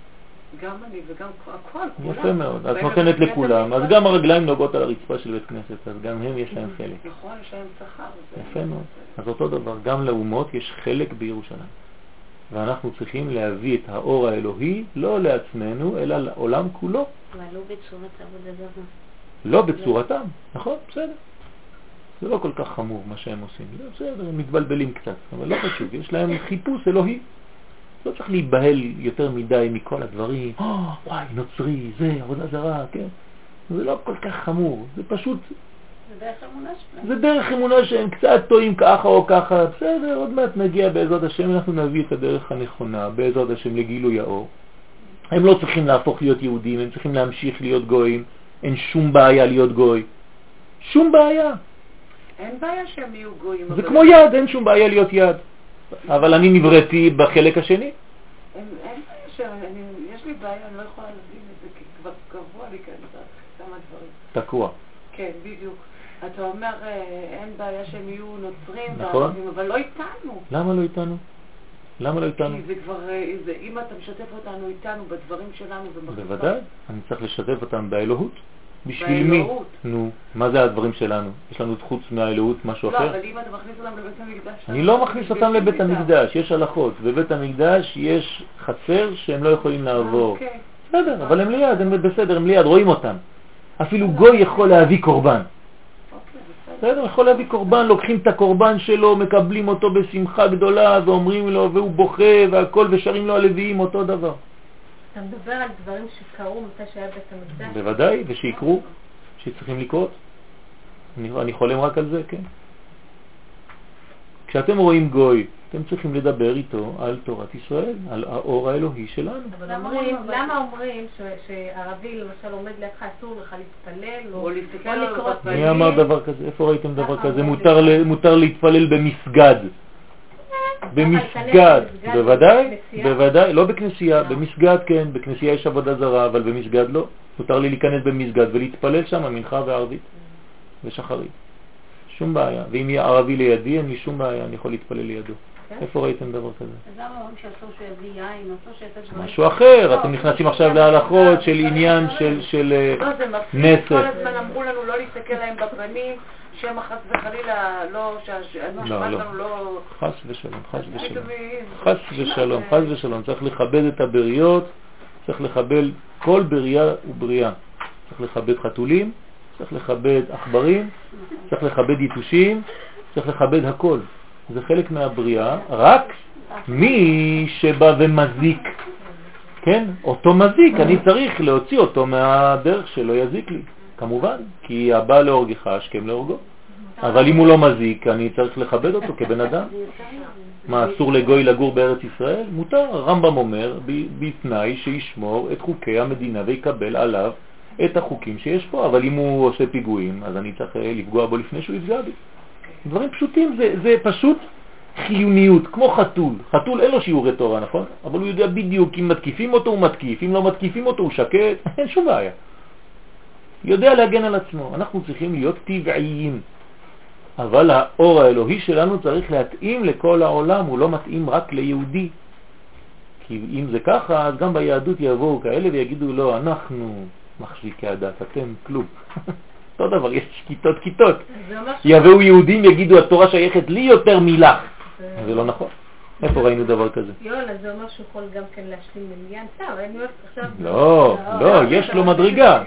גם אני וגם הכל. יפה מאוד. את נותנת לכולם, אז גם הרגליים נוגעות על הרצפה של בית כנסת, אז גם הם יש להם חלק. נכון, יש להם שכר. יפה מאוד. אז אותו דבר, גם לאומות יש חלק בירושלים. ואנחנו צריכים להביא את האור האלוהי, לא לעצמנו, אלא לעולם כולו. אבל לא בצורת עבודה זרה. לא בצורתם, נכון, בסדר. זה לא כל כך חמור מה שהם עושים. בסדר, הם מתבלבלים קצת, אבל לא חשוב, יש להם חיפוש אלוהי. לא צריך להיבהל יותר מדי מכל הדברים, וואי, נוצרי, זה, עבודה זרה, כן? זה לא כל כך חמור, זה פשוט... זה דרך אמונה שלהם. זה דרך אמונה שהם קצת טועים ככה או ככה, בסדר, עוד מעט נגיע בעזרת השם, אנחנו נביא את הדרך הנכונה, בעזרת השם לגילוי האור. הם לא צריכים להפוך להיות יהודים, הם צריכים להמשיך להיות גויים, אין שום בעיה להיות גוי. שום בעיה. אין בעיה שהם יהיו גויים. זה כמו יד, אין שום בעיה להיות יד. אבל אני נבראתי בחלק השני. אין בעיה יש לי בעיה, אני לא יכולה להבין את זה, כי כבר קבוע לי כאן כמה דברים. תקוע. כן, בדיוק. אתה אומר, אין בעיה שהם יהיו נוצרים, נכון. אבל לא איתנו. למה לא איתנו? למה לא איתנו? כי זה כבר, אם אתה משתף אותנו איתנו בדברים שלנו בוודאי, אני צריך לשתף אותם באלוהות. בשביל מי? נו, מה זה הדברים שלנו? יש לנו חוץ מהאלוהות משהו אחר? לא, אבל אם אתה מכניס אותם לבית המקדש... אני לא מכניס אותם לבית המקדש, יש הלכות. בבית המקדש יש חצר שהם לא יכולים לעבור. בסדר, אבל הם ליד, הם בסדר, הם ליד, רואים אותם. אפילו גוי יכול להביא קורבן. בסדר, יכול להביא קורבן, לוקחים את הקורבן שלו, מקבלים אותו בשמחה גדולה ואומרים לו, והוא בוכה והכל, ושרים לו הלוויים אותו דבר. אתה מדבר על דברים שקרו מתי שהיה בית המקדש? בוודאי, ושיקרו, שצריכים לקרות. אני חולם רק על זה, כן. כשאתם רואים גוי, אתם צריכים לדבר איתו על תורת ישראל, על האור האלוהי שלנו. אבל למה אומרים שערבי למשל עומד לידך אסור לך להתפלל או לקרוא תפילין? מי אמר דבר כזה? איפה ראיתם דבר כזה? מותר להתפלל במסגד. במסגד, בוודאי, בוודאי, לא בכנסייה, במסגד כן, בכנסייה יש עבודה זרה, אבל במסגד לא. מותר לי להיכנס במסגד ולהתפלל שם מנחה וערבית ושחרית. שום בעיה. ואם יהיה ערבי לידי, אין לי שום בעיה, אני יכול להתפלל לידו. איפה ראיתם דבר כזה? אז למה אומרים שאסור שיביא יין, אסור שיעשה דברים? משהו אחר, אתם נכנסים עכשיו להלכות של עניין של נסף. כל הזמן אמרו לנו לא להסתכל להם בפנים, שהם חס וחלילה לא, לא... חס ושלום, חס ושלום. חס ושלום, חס ושלום. צריך לכבד את הבריות, צריך לכבד כל בריאה ובריאה. צריך לכבד חתולים, צריך לכבד עכברים, צריך לכבד יתושים, צריך לכבד הכל. זה חלק מהבריאה, רק מי שבא ומזיק כן? אותו מזיק, אני צריך להוציא אותו מהדרך שלא יזיק לי, כמובן, כי הבא להורגך השכם להורגו. אבל אם הוא לא מזיק, אני צריך לכבד אותו כבן אדם. מה, אסור לגוי לגור בארץ ישראל? מותר. הרמב"ם אומר, בתנאי שישמור את חוקי המדינה ויקבל עליו את החוקים שיש פה. אבל אם הוא עושה פיגועים, אז אני צריך לפגוע בו לפני שהוא יפגע בי. דברים פשוטים, זה פשוט חיוניות, כמו חתול. חתול אין לו שיעורי תורה, נכון? אבל הוא יודע בדיוק, אם מתקיפים אותו הוא מתקיף, אם לא מתקיפים אותו הוא שקט, אין שום בעיה. יודע להגן על עצמו. אנחנו צריכים להיות טבעיים. אבל האור האלוהי שלנו צריך להתאים לכל העולם, הוא לא מתאים רק ליהודי. כי אם זה ככה, אז גם ביהדות יבואו כאלה ויגידו לא, אנחנו מחזיקי הדת, אתם כלום. אותו דבר, יש כיתות. יבואו יהודים ויגידו התורה שייכת לי יותר מלך. זה לא נכון. איפה ראינו דבר כזה? יואלה, זה אומר שהוא יכול גם כן להשלים מניין. לא, יש לו מדרגה.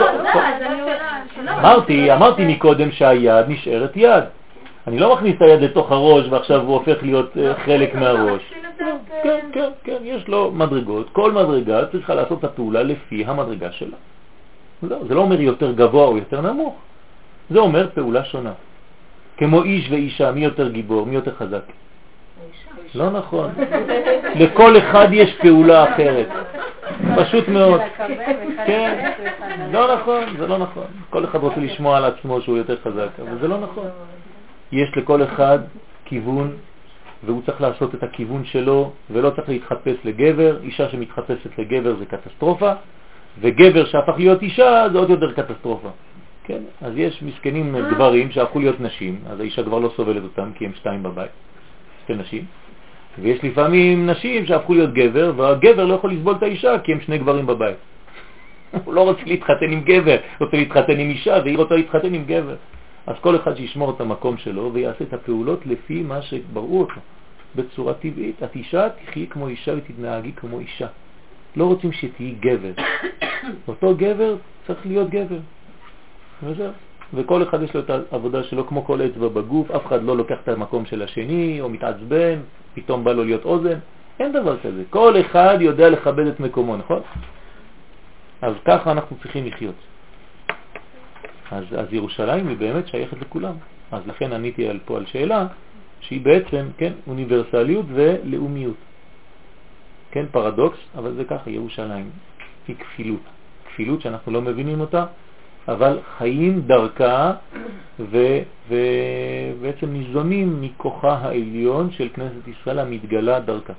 אמרתי מקודם שהיד נשארת יד. אני לא מכניס את היד לתוך הראש ועכשיו הוא הופך להיות חלק מהראש. כן, יש לו מדרגות. כל מדרגה צריכה לעשות את הפעולה לפי המדרגה שלה. זה לא אומר יותר גבוה או יותר נמוך. זה אומר פעולה שונה. כמו איש ואישה, מי יותר גיבור, מי יותר חזק? לא נכון. לכל אחד יש פעולה אחרת. פשוט מאוד. כן. לא נכון, זה לא נכון. כל אחד רוצה לשמוע על עצמו שהוא יותר חזק, אבל זה לא נכון. יש לכל אחד כיוון, והוא צריך לעשות את הכיוון שלו, ולא צריך להתחפש לגבר. אישה שמתחפשת לגבר זה קטסטרופה, וגבר שהפך להיות אישה זה עוד יותר קטסטרופה. כן? אז יש מסכנים גברים שהפכו להיות נשים, אז האישה כבר לא סובלת אותם כי הם שתיים בבית, שתי נשים. ויש לפעמים נשים שהפכו להיות גבר, והגבר לא יכול לסבול את האישה כי הם שני גברים בבית. הוא לא רוצה להתחתן עם גבר, רוצה להתחתן עם אישה, והיא רוצה להתחתן עם גבר. אז כל אחד שישמור את המקום שלו ויעשה את הפעולות לפי מה שבראו אותו, בצורה טבעית. את אישה תחי כמו אישה ותתנהגי כמו אישה. לא רוצים שתהי גבר. אותו גבר צריך להיות גבר. וזהו. וכל אחד יש לו את העבודה שלו כמו כל אצבע בגוף, אף אחד לא לוקח את המקום של השני או מתעצבן, פתאום בא לו להיות אוזן, אין דבר כזה. כל אחד יודע לכבד את מקומו, נכון? אז ככה אנחנו צריכים לחיות. אז ירושלים היא באמת שייכת לכולם. אז לכן עניתי פה על שאלה שהיא בעצם, כן, אוניברסליות ולאומיות. כן, פרדוקס, אבל זה ככה, ירושלים היא כפילות. כפילות שאנחנו לא מבינים אותה, אבל חיים דרכה ובעצם ניזונים מכוחה העליון של כנסת ישראל המתגלה דרכה.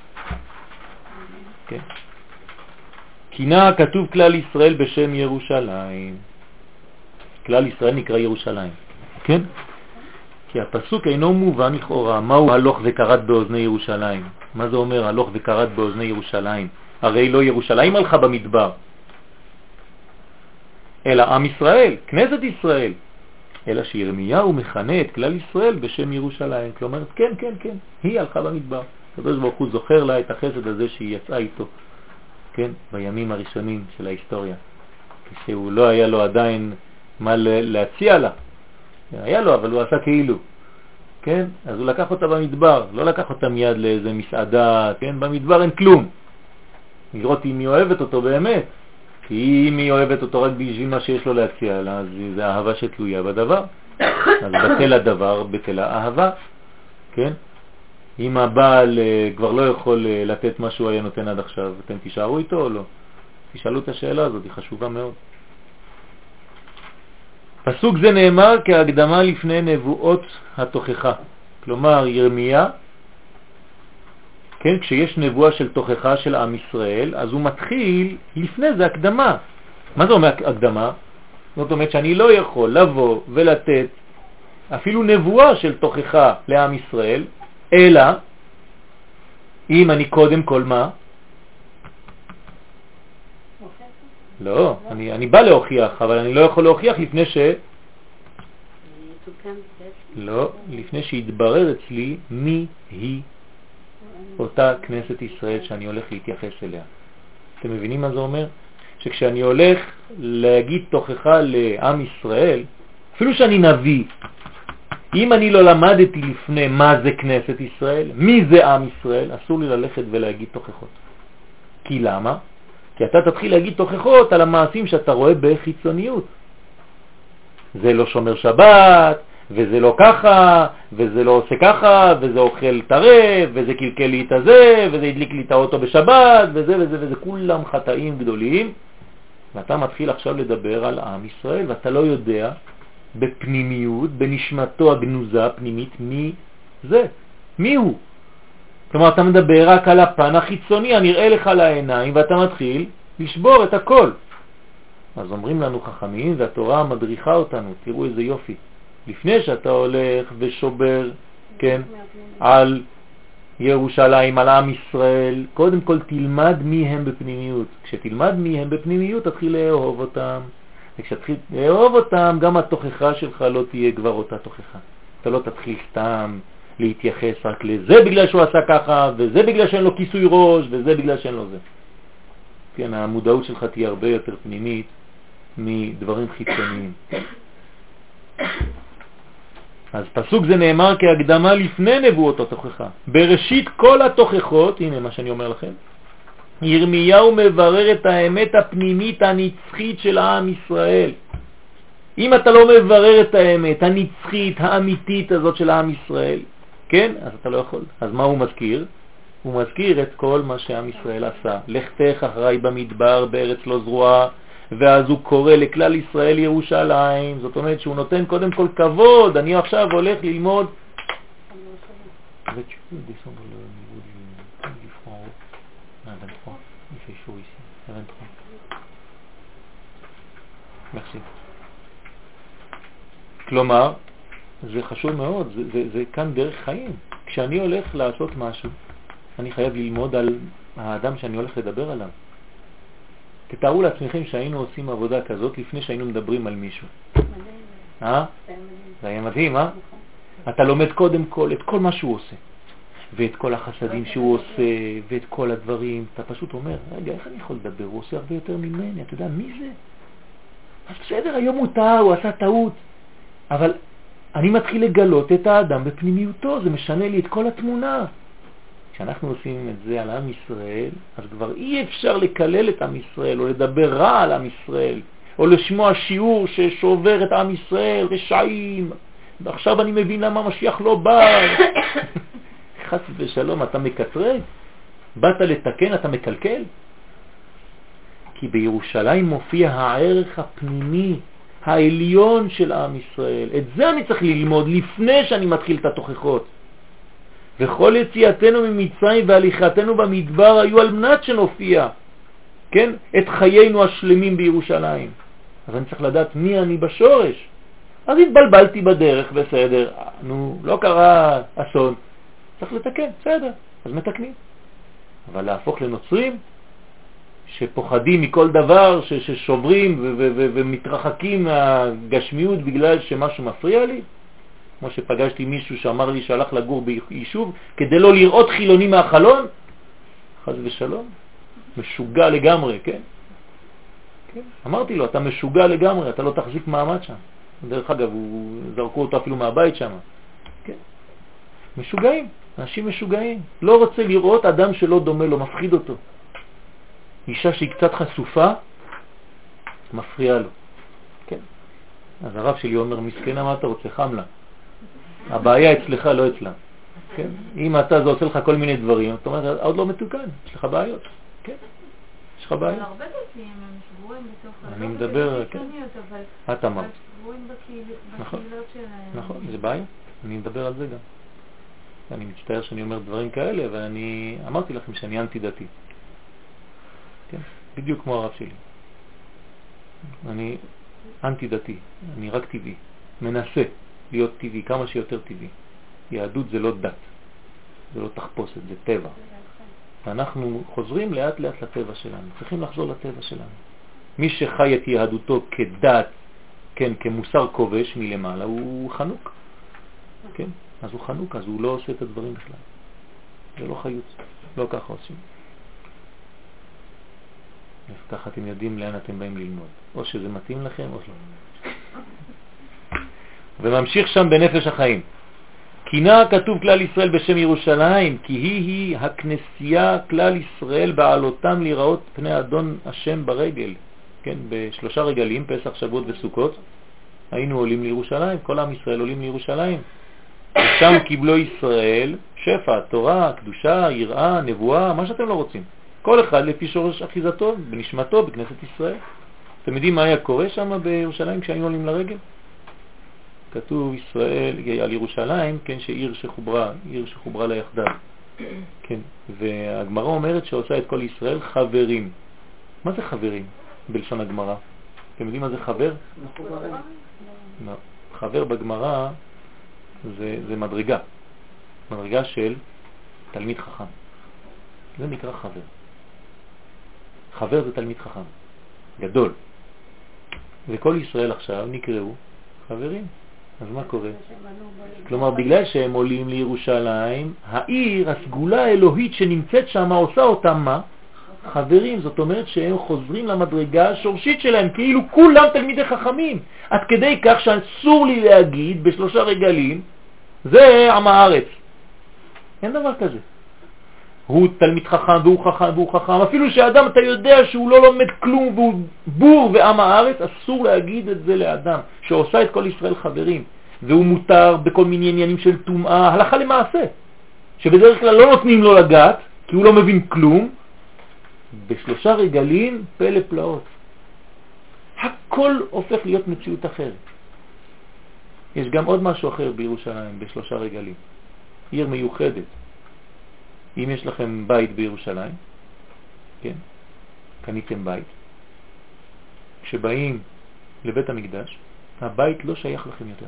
כן. כינה כתוב כלל ישראל בשם ירושלים. כלל ישראל נקרא ירושלים. כן? כי הפסוק אינו מובן לכאורה. מהו הלוך וקראת באוזני ירושלים? מה זה אומר הלוך וקראת באוזני ירושלים? הרי לא ירושלים הלכה במדבר, אלא עם ישראל, כנסת ישראל. אלא שירמיהו מכנה את כלל ישראל בשם ירושלים. כלומר, כן, היא הלכה במדבר. הקדוש ברוך הוא זוכר לה את החסד הזה שהיא יצאה איתו, כן, בימים הראשונים של ההיסטוריה, כשהוא לא היה לו עדיין מה להציע לה. היה לו, אבל הוא עשה כאילו. כן? אז הוא לקח אותה במדבר, לא לקח אותה מיד לאיזה מסעדה, כן? במדבר אין כלום. לראות אם היא אוהבת אותו באמת. כי אם היא אוהבת אותו רק בשביל מה שיש לו להציע לה, אז זה אהבה שתלויה בדבר. אז בטל הדבר, בטל האהבה. כן? אם הבעל כבר לא יכול לתת מה שהוא היה נותן עד עכשיו, אתם תישארו איתו או לא? תשאלו את השאלה הזאת, היא חשובה מאוד. פסוק זה נאמר כהקדמה לפני נבואות התוכחה. כלומר, ירמיה, כן, כשיש נבואה של תוכחה של עם ישראל, אז הוא מתחיל, לפני זה הקדמה. מה זה אומר הקדמה? זאת אומרת שאני לא יכול לבוא ולתת אפילו נבואה של תוכחה לעם ישראל, אלא אם אני קודם כל מה? לא, אני בא להוכיח, אבל אני לא יכול להוכיח לפני לא, לפני שיתברר אצלי מי היא אותה כנסת ישראל שאני הולך להתייחס אליה. אתם מבינים מה זה אומר? שכשאני הולך להגיד תוכחה לעם ישראל, אפילו שאני נביא, אם אני לא למדתי לפני מה זה כנסת ישראל, מי זה עם ישראל, אסור לי ללכת ולהגיד תוכחות. כי למה? כי אתה תתחיל להגיד תוכחות על המעשים שאתה רואה בחיצוניות. זה לא שומר שבת, וזה לא ככה, וזה לא עושה ככה, וזה אוכל טרף, וזה קלקל לי את הזה, וזה הדליק לי את האוטו בשבת, וזה וזה וזה, כולם חטאים גדולים. ואתה מתחיל עכשיו לדבר על עם ישראל, ואתה לא יודע בפנימיות, בנשמתו הגנוזה הפנימית, מי זה, מי הוא. כלומר, אתה מדבר רק על הפן החיצוני, הנראה לך לעיניים, ואתה מתחיל לשבור את הכל. אז אומרים לנו חכמים, והתורה מדריכה אותנו, תראו איזה יופי. לפני שאתה הולך ושובר, כן, על ירושלים, על עם ישראל, קודם כל תלמד מי הם בפנימיות. כשתלמד מי הם בפנימיות, תתחיל לאהוב אותם. וכשתתחיל לאהוב אותם, גם התוכחה שלך לא תהיה כבר אותה תוכחה. אתה לא תתחיל סתם להתייחס רק לזה בגלל שהוא עשה ככה, וזה בגלל שאין לו כיסוי ראש, וזה בגלל שאין לו זה. כן, המודעות שלך תהיה הרבה יותר פנימית מדברים חיצוניים. אז פסוק זה נאמר כהקדמה לפני נבואות התוכחה. בראשית כל התוכחות, הנה מה שאני אומר לכם, ירמיהו מברר את האמת הפנימית הנצחית של עם ישראל. אם אתה לא מברר את האמת הנצחית, האמיתית הזאת של עם ישראל, כן? אז אתה לא יכול. אז מה הוא מזכיר? הוא מזכיר את כל מה שעם ישראל עשה. לכתך אחרי במדבר בארץ לא זרועה, ואז הוא קורא לכלל ישראל ירושלים. זאת אומרת שהוא נותן קודם כל כבוד. אני עכשיו הולך ללמוד. כלומר, זה חשוב מאוד, זה כאן דרך חיים. כשאני הולך לעשות משהו, אני חייב ללמוד על האדם שאני הולך לדבר עליו. תתארו לעצמכם שהיינו עושים עבודה כזאת לפני שהיינו מדברים על מישהו. זה היה מדהים, אתה לומד קודם כל את כל מה שהוא עושה, ואת כל החסדים שהוא עושה, ואת כל הדברים. אתה פשוט אומר, רגע, איך אני יכול לדבר? הוא עושה הרבה יותר ממני, אתה יודע, מי זה? אז בסדר, היום הוא טעה, הוא עשה טעות, אבל אני מתחיל לגלות את האדם בפנימיותו, זה משנה לי את כל התמונה. כשאנחנו עושים את זה על עם ישראל, אז כבר אי אפשר לקלל את עם ישראל, או לדבר רע על עם ישראל, או לשמוע שיעור ששובר את עם ישראל, רשעים, ועכשיו אני מבין למה משיח לא בא. חס ושלום, אתה מקטרג? באת לתקן, אתה מקלקל? כי בירושלים מופיע הערך הפנימי, העליון של עם ישראל. את זה אני צריך ללמוד לפני שאני מתחיל את התוכחות. וכל יציאתנו ממצרים והליכתנו במדבר היו על מנת שנופיע, כן? את חיינו השלמים בירושלים. אז אני צריך לדעת מי אני בשורש. אז התבלבלתי בדרך, בסדר. נו, לא קרה אסון. צריך לתקן, בסדר. אז מתקנים. אבל להפוך לנוצרים שפוחדים מכל דבר, ששוברים ומתרחקים מהגשמיות בגלל שמשהו מפריע לי. כמו שפגשתי מישהו שאמר לי שהלך לגור ביישוב כדי לא לראות חילוני מהחלון. חס ושלום. משוגע לגמרי, כן? כן? אמרתי לו, אתה משוגע לגמרי, אתה לא תחזיק מעמד שם. דרך אגב, זרקו אותו אפילו מהבית שם. כן? משוגעים, אנשים משוגעים. לא רוצה לראות אדם שלא דומה לו, מפחיד אותו. אישה שהיא קצת חשופה, מפריע לו. כן? אז הרב שלי אומר, מסכנה, מה אתה רוצה? חם לה. הבעיה אצלך, לא אצלה. כן? אם אתה זה עושה לך כל מיני דברים, אתה אומר, עוד לא מתוקן, יש לך בעיות. כן? יש לך בעיות. אבל הרבה דתיים הם שבועים בתוך... אני מדבר, כן. את אמרת. שבועים בקהילות שלהם. נכון, זה בעיה. אני מדבר על זה גם. אני מצטער שאני אומר דברים כאלה, ואני אמרתי לכם שאני אנטי דתי. כן? בדיוק כמו הרב שלי. אני אנטי דתי, אני רק טבעי. מנסה להיות טבעי, כמה שיותר טבעי. יהדות זה לא דת, זה לא תחפושת, זה טבע. ואנחנו חוזרים לאט לאט לטבע שלנו, צריכים לחזור לטבע שלנו. מי שחי את יהדותו כדת, כן, כמוסר כובש מלמעלה, הוא חנוק. כן? אז הוא חנוק, אז הוא לא עושה את הדברים בכלל. זה לא חיות, לא ככה עושים. אז ככה אתם יודעים לאן אתם באים ללמוד. או שזה מתאים לכם או לא. וממשיך שם בנפש החיים. כינה כתוב כלל ישראל בשם ירושלים, כי היא הכנסייה כלל ישראל בעלותם לראות פני אדון השם ברגל. כן, בשלושה רגלים, פסח, שבועות וסוכות, היינו עולים לירושלים, כל עם ישראל עולים לירושלים. ושם קיבלו ישראל שפע, תורה, קדושה, יראה, נבואה, מה שאתם לא רוצים. כל אחד לפי שורש אחיזתו, בנשמתו, בכנסת ישראל. אתם יודעים מה היה קורה שם בירושלים כשהיינו עולים לרגל? כתוב ישראל על ירושלים, כן, שעיר שחוברה לה יחדיו. כן, והגמרא אומרת שעושה את כל ישראל חברים. מה זה חברים בלשון הגמרא? אתם יודעים מה זה חבר? חבר בגמרא זה מדרגה של תלמיד חכם. זה נקרא חבר. חבר זה תלמיד חכם, גדול. וכל ישראל עכשיו נקראו חברים. אז מה קורה? כלומר, בגלל שהם עולים לירושלים, העיר, הסגולה האלוהית שנמצאת שם, עושה אותם מה? חברים. זאת אומרת שהם חוזרים למדרגה השורשית שלהם, כאילו כולם תלמידי חכמים. עד כדי כך שאסור לי להגיד בשלושה רגלים, זה עם הארץ. אין דבר כזה. הוא תלמיד חכם והוא חכם והוא חכם. אפילו שאדם אתה יודע שהוא לא לומד כלום והוא בור ועם הארץ, אסור להגיד את זה לאדם שעושה את כל ישראל חברים. והוא מותר בכל מיני עניינים של טומאה, הלכה למעשה. שבדרך כלל לא נותנים לו לגעת, כי הוא לא מבין כלום. בשלושה רגלים פלא פלאות. הכל הופך להיות מציאות אחרת. יש גם עוד משהו אחר בירושלים, בשלושה רגלים. עיר מיוחדת. אם יש לכם בית בירושלים, כן, קניתם בית, כשבאים לבית המקדש, הבית לא שייך לכם יותר.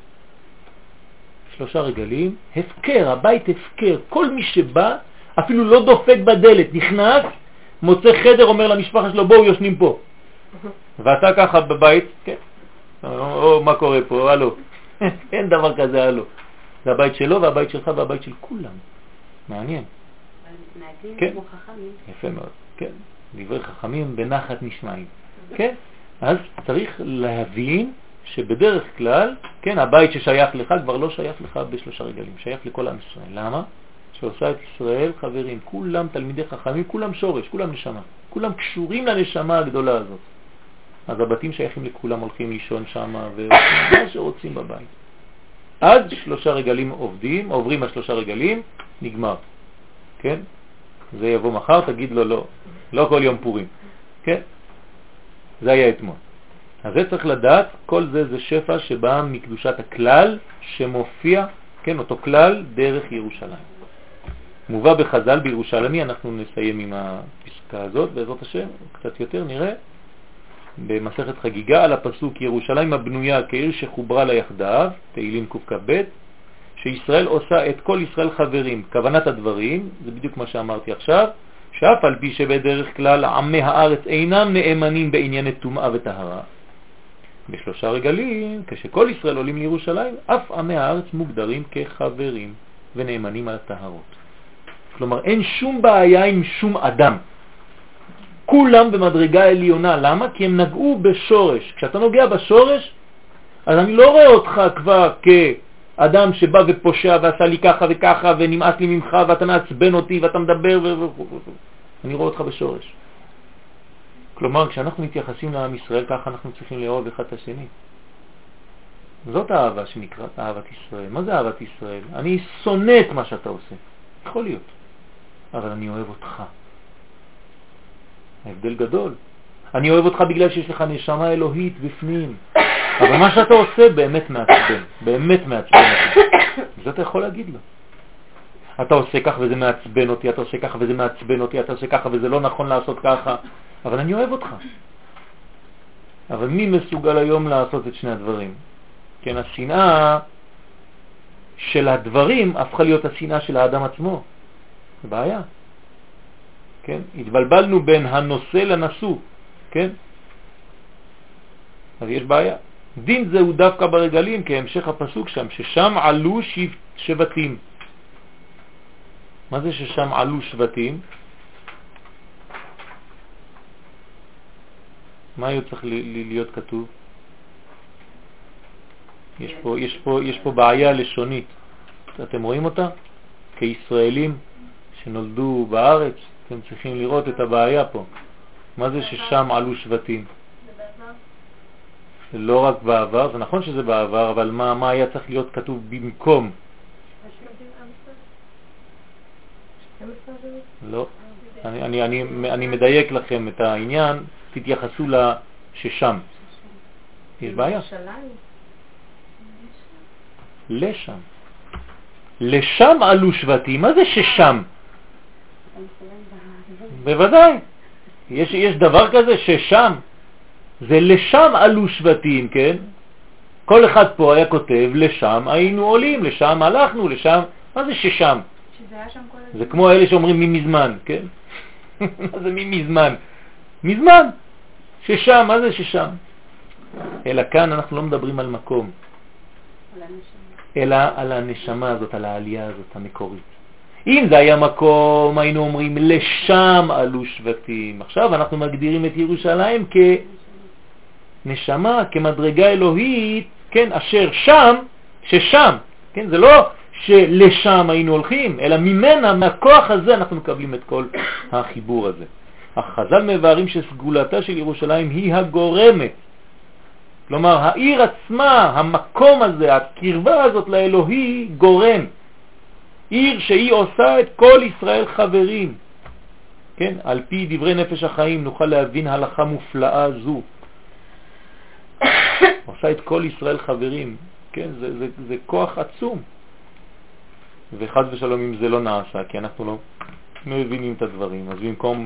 שלושה רגלים, הפקר, הבית הפקר. כל מי שבא, אפילו לא דופק בדלת, נכנס, מוצא חדר, אומר למשפחה שלו, בואו יושנים פה. ואתה ככה בבית, כן, או מה קורה פה, הלו. אין דבר כזה, הלו. זה הבית שלו והבית שלך והבית של כולם. מעניין. כן, יפה מאוד. כן, דברי חכמים בנחת נשמעים. כן, אז צריך להבין שבדרך כלל, כן, הבית ששייך לך כבר לא שייך לך בשלושה רגלים, שייך לכל עם ישראל. למה? שעושה את ישראל חברים, כולם תלמידי חכמים, כולם שורש, כולם נשמה, כולם קשורים לנשמה הגדולה הזאת. אז הבתים שייכים לכולם, הולכים לישון שם ומה שרוצים בבית. עד שלושה רגלים עוברים השלושה רגלים, נגמר. כן? זה יבוא מחר, תגיד לו לא כל יום פורים. כן? זה היה אתמול. אז זה צריך לדעת, כל זה שפע שבא מקדושת הכלל שמופיע, כן, אותו כלל דרך ירושלים. מובא בחז"ל בירושלמי, אנחנו נסיים עם הפסקה הזאת, בעזרת השם, קצת יותר נראה, במסכת חגיגה על הפסוק ירושלים הבנויה כעיר שחוברה לה יחדיו, תהילים קכ"ב, שישראל עושה את כל ישראל חברים. כוונת הדברים, זה בדיוק מה שאמרתי עכשיו, שאף על פי שבדרך כלל עמי הארץ אינם נאמנים בענייני טומאה וטהרה, בשלושה רגלים, כשכל ישראל עולים לירושלים, אף עמי הארץ מוגדרים כחברים ונאמנים על הטהרות. כלומר, אין שום בעיה עם שום אדם. כולם במדרגה עליונה. למה? כי הם נגעו בשורש. כשאתה נוגע בשורש, אז אני לא רואה אותך כבר כאדם שבא ופושע ועשה לי ככה וככה ונמאס לי ממך ואתה מעצבן אותי ואתה מדבר אני רואה אותך בשורש. כלומר, כשאנחנו מתייחסים לעם ישראל, ככה אנחנו צריכים לאהוב אחד את השני. זאת האהבה שנקראת אהבת ישראל. מה זה אהבת ישראל? אני שונא את מה שאתה עושה. יכול להיות. אבל אני אוהב אותך. ההבדל גדול. אני אוהב אותך בגלל שיש לך נשמה אלוהית בפנים. אבל מה שאתה עושה באמת מעצבן. באמת מעצבן אותי. זה אתה יכול להגיד לו. אתה עושה כך וזה מעצבן אותי, אתה עושה כך וזה מעצבן אותי, אתה עושה ככה וזה לא נכון לעשות ככה. אבל אני אוהב אותך. אבל מי מסוגל היום לעשות את שני הדברים? כן, השנאה של הדברים הפכה להיות השנאה של האדם עצמו. זה בעיה. כן? התבלבלנו בין הנושא לנשוא. כן? אז יש בעיה. דין זה הוא דווקא ברגלים, כהמשך הפסוק שם, ששם עלו שבטים. מה זה ששם עלו שבטים? מה היה צריך להיות כתוב? יש פה בעיה לשונית. אתם רואים אותה? כישראלים שנולדו בארץ, אתם צריכים לראות את הבעיה פה. מה זה ששם עלו שבטים? זה לא רק בעבר, זה נכון שזה בעבר, אבל מה היה צריך להיות כתוב במקום? לא. אני מדייק לכם את העניין, תתייחסו לששם. יש בעיה? לשם. לשם עלו שבטים. מה זה ששם? בוודאי. יש דבר כזה ששם. זה לשם עלו שבטים, כן? כל אחד פה היה כותב לשם היינו עולים, לשם הלכנו, לשם. מה זה ששם? זה כמו אלה שאומרים ממזמן, כן? מה זה ממזמן? מזמן. ששם, מה זה ששם? אלא כאן אנחנו לא מדברים על מקום, אלא על הנשמה הזאת, על העלייה הזאת המקורית. אם זה היה מקום, היינו אומרים לשם עלו שבטים. עכשיו אנחנו מגדירים את ירושלים כנשמה, כמדרגה אלוהית, כן, אשר שם, ששם, כן, זה לא שלשם היינו הולכים, אלא ממנה, מהכוח הזה אנחנו מקבלים את כל החיבור הזה. החז"ל מבארים שסגולתה של ירושלים היא הגורמת. כלומר, העיר עצמה, המקום הזה, הקרבה הזאת לאלוהי גורם. עיר שהיא עושה את כל ישראל חברים. כן? על פי דברי נפש החיים נוכל להבין הלכה מופלאה זו. עושה את כל ישראל חברים. כן? זה כוח עצום. וחד ושלום אם זה לא נעשה, כי אנחנו לא מבינים את הדברים. אז במקום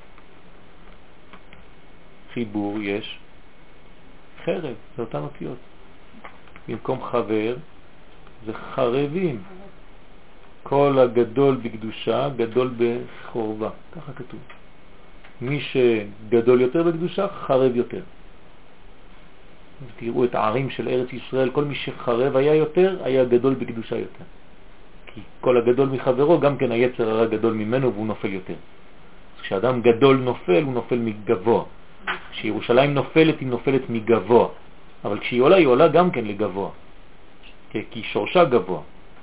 חיבור יש חרב, זה אותן אותיות. במקום חבר זה חרבים. כל הגדול בקדושה, גדול בחורבה. ככה כתוב. מי שגדול יותר בקדושה, חרב יותר. תראו את הערים של ארץ ישראל, כל מי שחרב היה יותר, היה גדול בקדושה יותר. כי כל הגדול מחברו, גם כן היצר הרע גדול ממנו והוא נופל יותר. כשאדם גדול נופל, הוא נופל מגבוה. כשירושלים נופלת, היא נופלת מגבוה. אבל כשהיא עולה, היא עולה גם כן לגבוה. כי שורשה גבוה.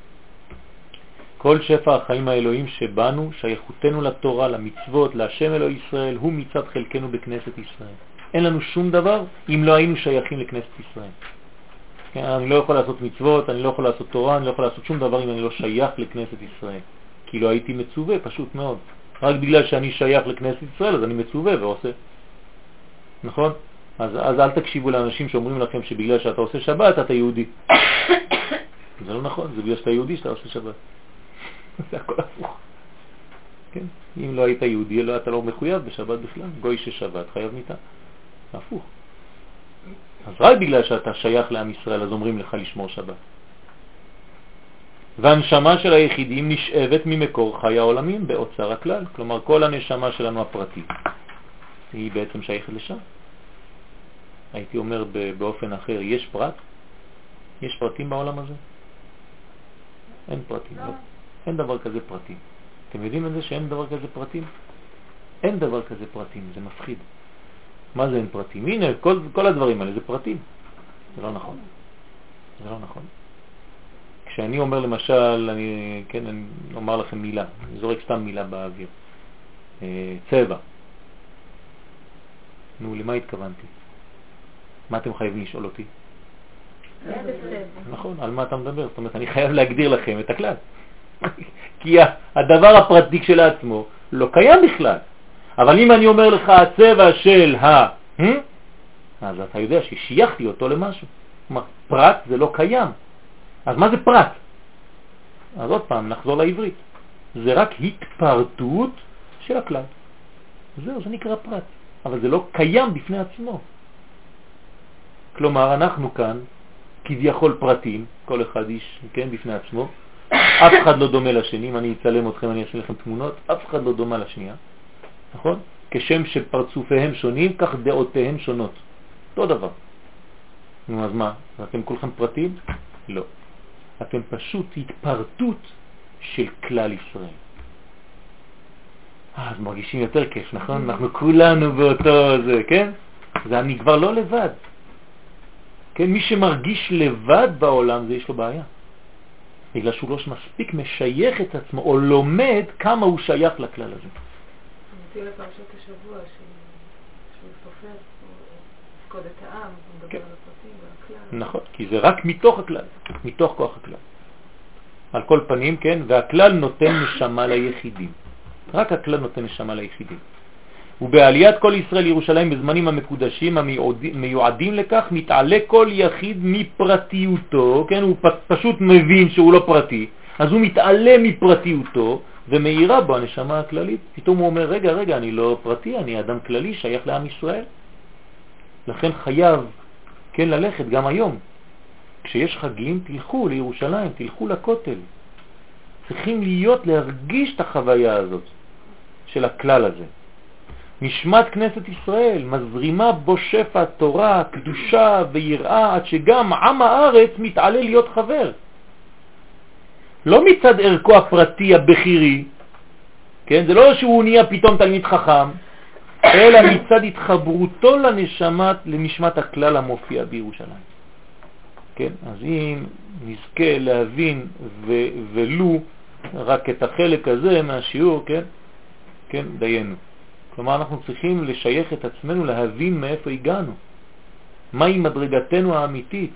כל שפע החיים האלוהים שבנו, שייכותנו לתורה, למצוות, להשם אלוהי ישראל, הוא מצד חלקנו בכנסת ישראל. אין לנו שום דבר אם לא היינו שייכים לכנסת ישראל. אני לא יכול לעשות מצוות, אני לא יכול לעשות תורה, אני לא יכול לעשות שום דבר אם אני לא שייך לכנסת ישראל. כי לא הייתי מצווה, פשוט מאוד. רק בגלל שאני שייך לכנסת ישראל, אז אני מצווה ועושה. נכון? אז אל תקשיבו לאנשים שאומרים לכם שבגלל שאתה עושה שבת, אתה יהודי. זה לא נכון, זה בגלל שאתה יהודי שאתה עושה שבת. זה הכל הפוך. כן? אם לא היית יהודי, לא, אתה לא מחויב בשבת בכלל. גוי ששבת חייב מיתה. הפוך. אז רק בגלל שאתה שייך לעם ישראל, אז אומרים לך לשמור שבת. והנשמה של היחידים נשאבת ממקור חי העולמים באוצר הכלל. כלומר, כל הנשמה שלנו הפרטית היא בעצם שייכת לשם. הייתי אומר באופן אחר, יש פרט? יש פרטים בעולם הזה? אין פרטים, לא. אין דבר כזה פרטים. אתם יודעים את זה שאין דבר כזה פרטים? אין דבר כזה פרטים, זה מפחיד. מה זה אין פרטים? הנה, כל הדברים האלה זה פרטים. זה לא נכון. זה לא נכון. כשאני אומר למשל, אני אומר לכם מילה, אני זורק סתם מילה באוויר. צבע. נו, למה התכוונתי? מה אתם חייבים לשאול אותי? נכון, על מה אתה מדבר? זאת אומרת, אני חייב להגדיר לכם את הכלל. כי הדבר הפרטי כשלעצמו לא קיים בכלל. אבל אם אני אומר לך הצבע של אז אתה יודע ששייכתי אותו למשהו. כלומר, פרט זה לא קיים. אז מה זה פרט? אז עוד פעם, נחזור לעברית. זה רק התפרטות של הכלל. זהו, זה נקרא פרט. אבל זה לא קיים בפני עצמו. כלומר, אנחנו כאן, כביכול פרטים, כל אחד איש, כן, בפני עצמו. אף אחד לא דומה לשני. אם אני אצלם אתכם, אני אעשה לכם תמונות, אף אחד לא דומה לשנייה. נכון? כשם שפרצופיהם שונים, כך דעותיהם שונות. אותו דבר. נו, אז מה? אתם כולכם פרטים? לא. אתם פשוט התפרטות של כלל ישראל. אז מרגישים יותר כיף, נכון? אנחנו כולנו באותו זה, כן? זה אני כבר לא לבד. כן? מי שמרגיש לבד בעולם, זה יש לו בעיה. בגלל שהוא לא מספיק משייך את עצמו או לומד כמה הוא שייך לכלל הזה. נתיב לפרשת השבוע שהוא סופר, הוא פקוד את העם, הוא מדבר על הפרטים והכלל. נכון, כי זה רק מתוך הכלל, מתוך כוח הכלל. על כל פנים, כן, והכלל נותן נשמה ליחידים. רק הכלל נותן נשמה ליחידים. ובעליית כל ישראל לירושלים בזמנים המקודשים המיועדים לכך מתעלה כל יחיד מפרטיותו, כן, הוא פשוט מבין שהוא לא פרטי, אז הוא מתעלה מפרטיותו ומאירה בו הנשמה הכללית. פתאום הוא אומר, רגע, אני לא פרטי, אני אדם כללי, שייך לעם ישראל. לכן חייב, כן, ללכת גם היום. כשיש חגים, תלכו לירושלים, תלכו לכותל. צריכים להרגיש את החוויה הזאת של הכלל הזה. נשמת כנסת ישראל מזרימה בו שפע תורה, קדושה ויראה, עד שגם עם הארץ מתעלה להיות חבר. לא מצד ערכו הפרטי הבכירי, כן? זה לא שהוא נהיה פתאום תלמיד חכם, אלא מצד התחברותו לנשמת הכלל המופיע בירושלים. כן? אז אם נזכה להבין ולו רק את החלק הזה מהשיעור, כן, דיינו. כלומר, אנחנו צריכים לשייך את עצמנו, להבין מאיפה הגענו. מהי מדרגתנו האמיתית.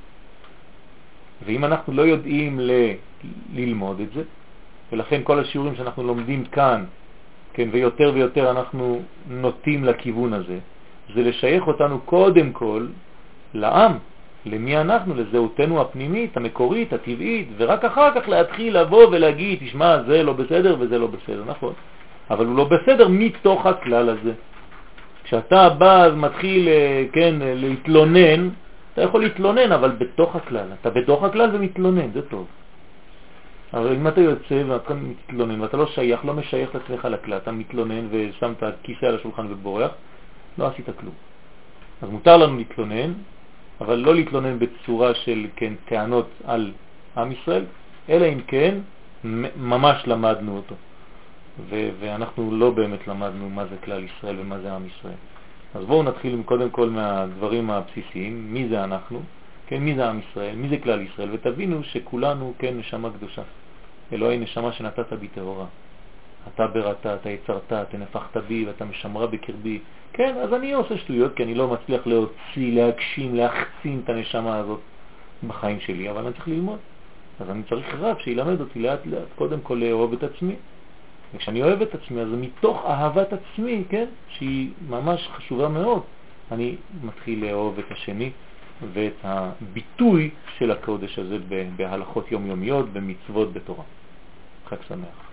ואם אנחנו לא יודעים ללמוד את זה, ולכן כל השיעורים שאנחנו לומדים כאן, כן, ויותר ויותר אנחנו נוטים לכיוון הזה, זה לשייך אותנו קודם כל לעם, למי אנחנו, לזהותנו הפנימית, המקורית, הטבעית, ורק אחר כך להתחיל לבוא ולהגיד, תשמע, זה לא בסדר וזה לא בסדר, נכון. אבל הוא לא בסדר מתוך הכלל הזה. כשאתה בא מתחיל, כן, להתלונן, אתה יכול להתלונן, אבל בתוך הכלל. אתה בתוך הכלל ומתלונן, זה טוב. אבל אם אתה יוצא ואתה מתלונן ואתה לא שייך, לא משייך לעצמך לכלל, אתה מתלונן ושם את הכיסא על השולחן ובורח, לא עשית כלום. אז מותר לנו להתלונן, אבל לא להתלונן בצורה של, כן, טענות על עם ישראל, אלא אם כן ממש למדנו אותו. ואנחנו לא באמת למדנו מה זה כלל ישראל ומה זה עם ישראל. אז בואו נתחיל קודם כל מהדברים הבסיסיים, מי זה אנחנו, כן, מי זה עם ישראל, מי זה כלל ישראל, ותבינו שכולנו, כן, נשמה קדושה. אלוהי נשמה שנתת בי טהורה. אתה בראת, אתה יצרת, אתה נפחת בי ואתה משמרה בקרבי. כן, אז אני עושה שטויות כי אני לא מצליח להוציא, להגשים, להחצין את הנשמה הזאת בחיים שלי, אבל אני צריך ללמוד. אז אני צריך רב שילמד אותי לאט לאט, קודם כל לאהוב את עצמי. וכשאני אוהב את עצמי, אז מתוך אהבת עצמי, כן, שהיא ממש חשובה מאוד, אני מתחיל לאהוב את השני ואת הביטוי של הקודש הזה בהלכות יומיומיות, במצוות, בתורה. חג שמח.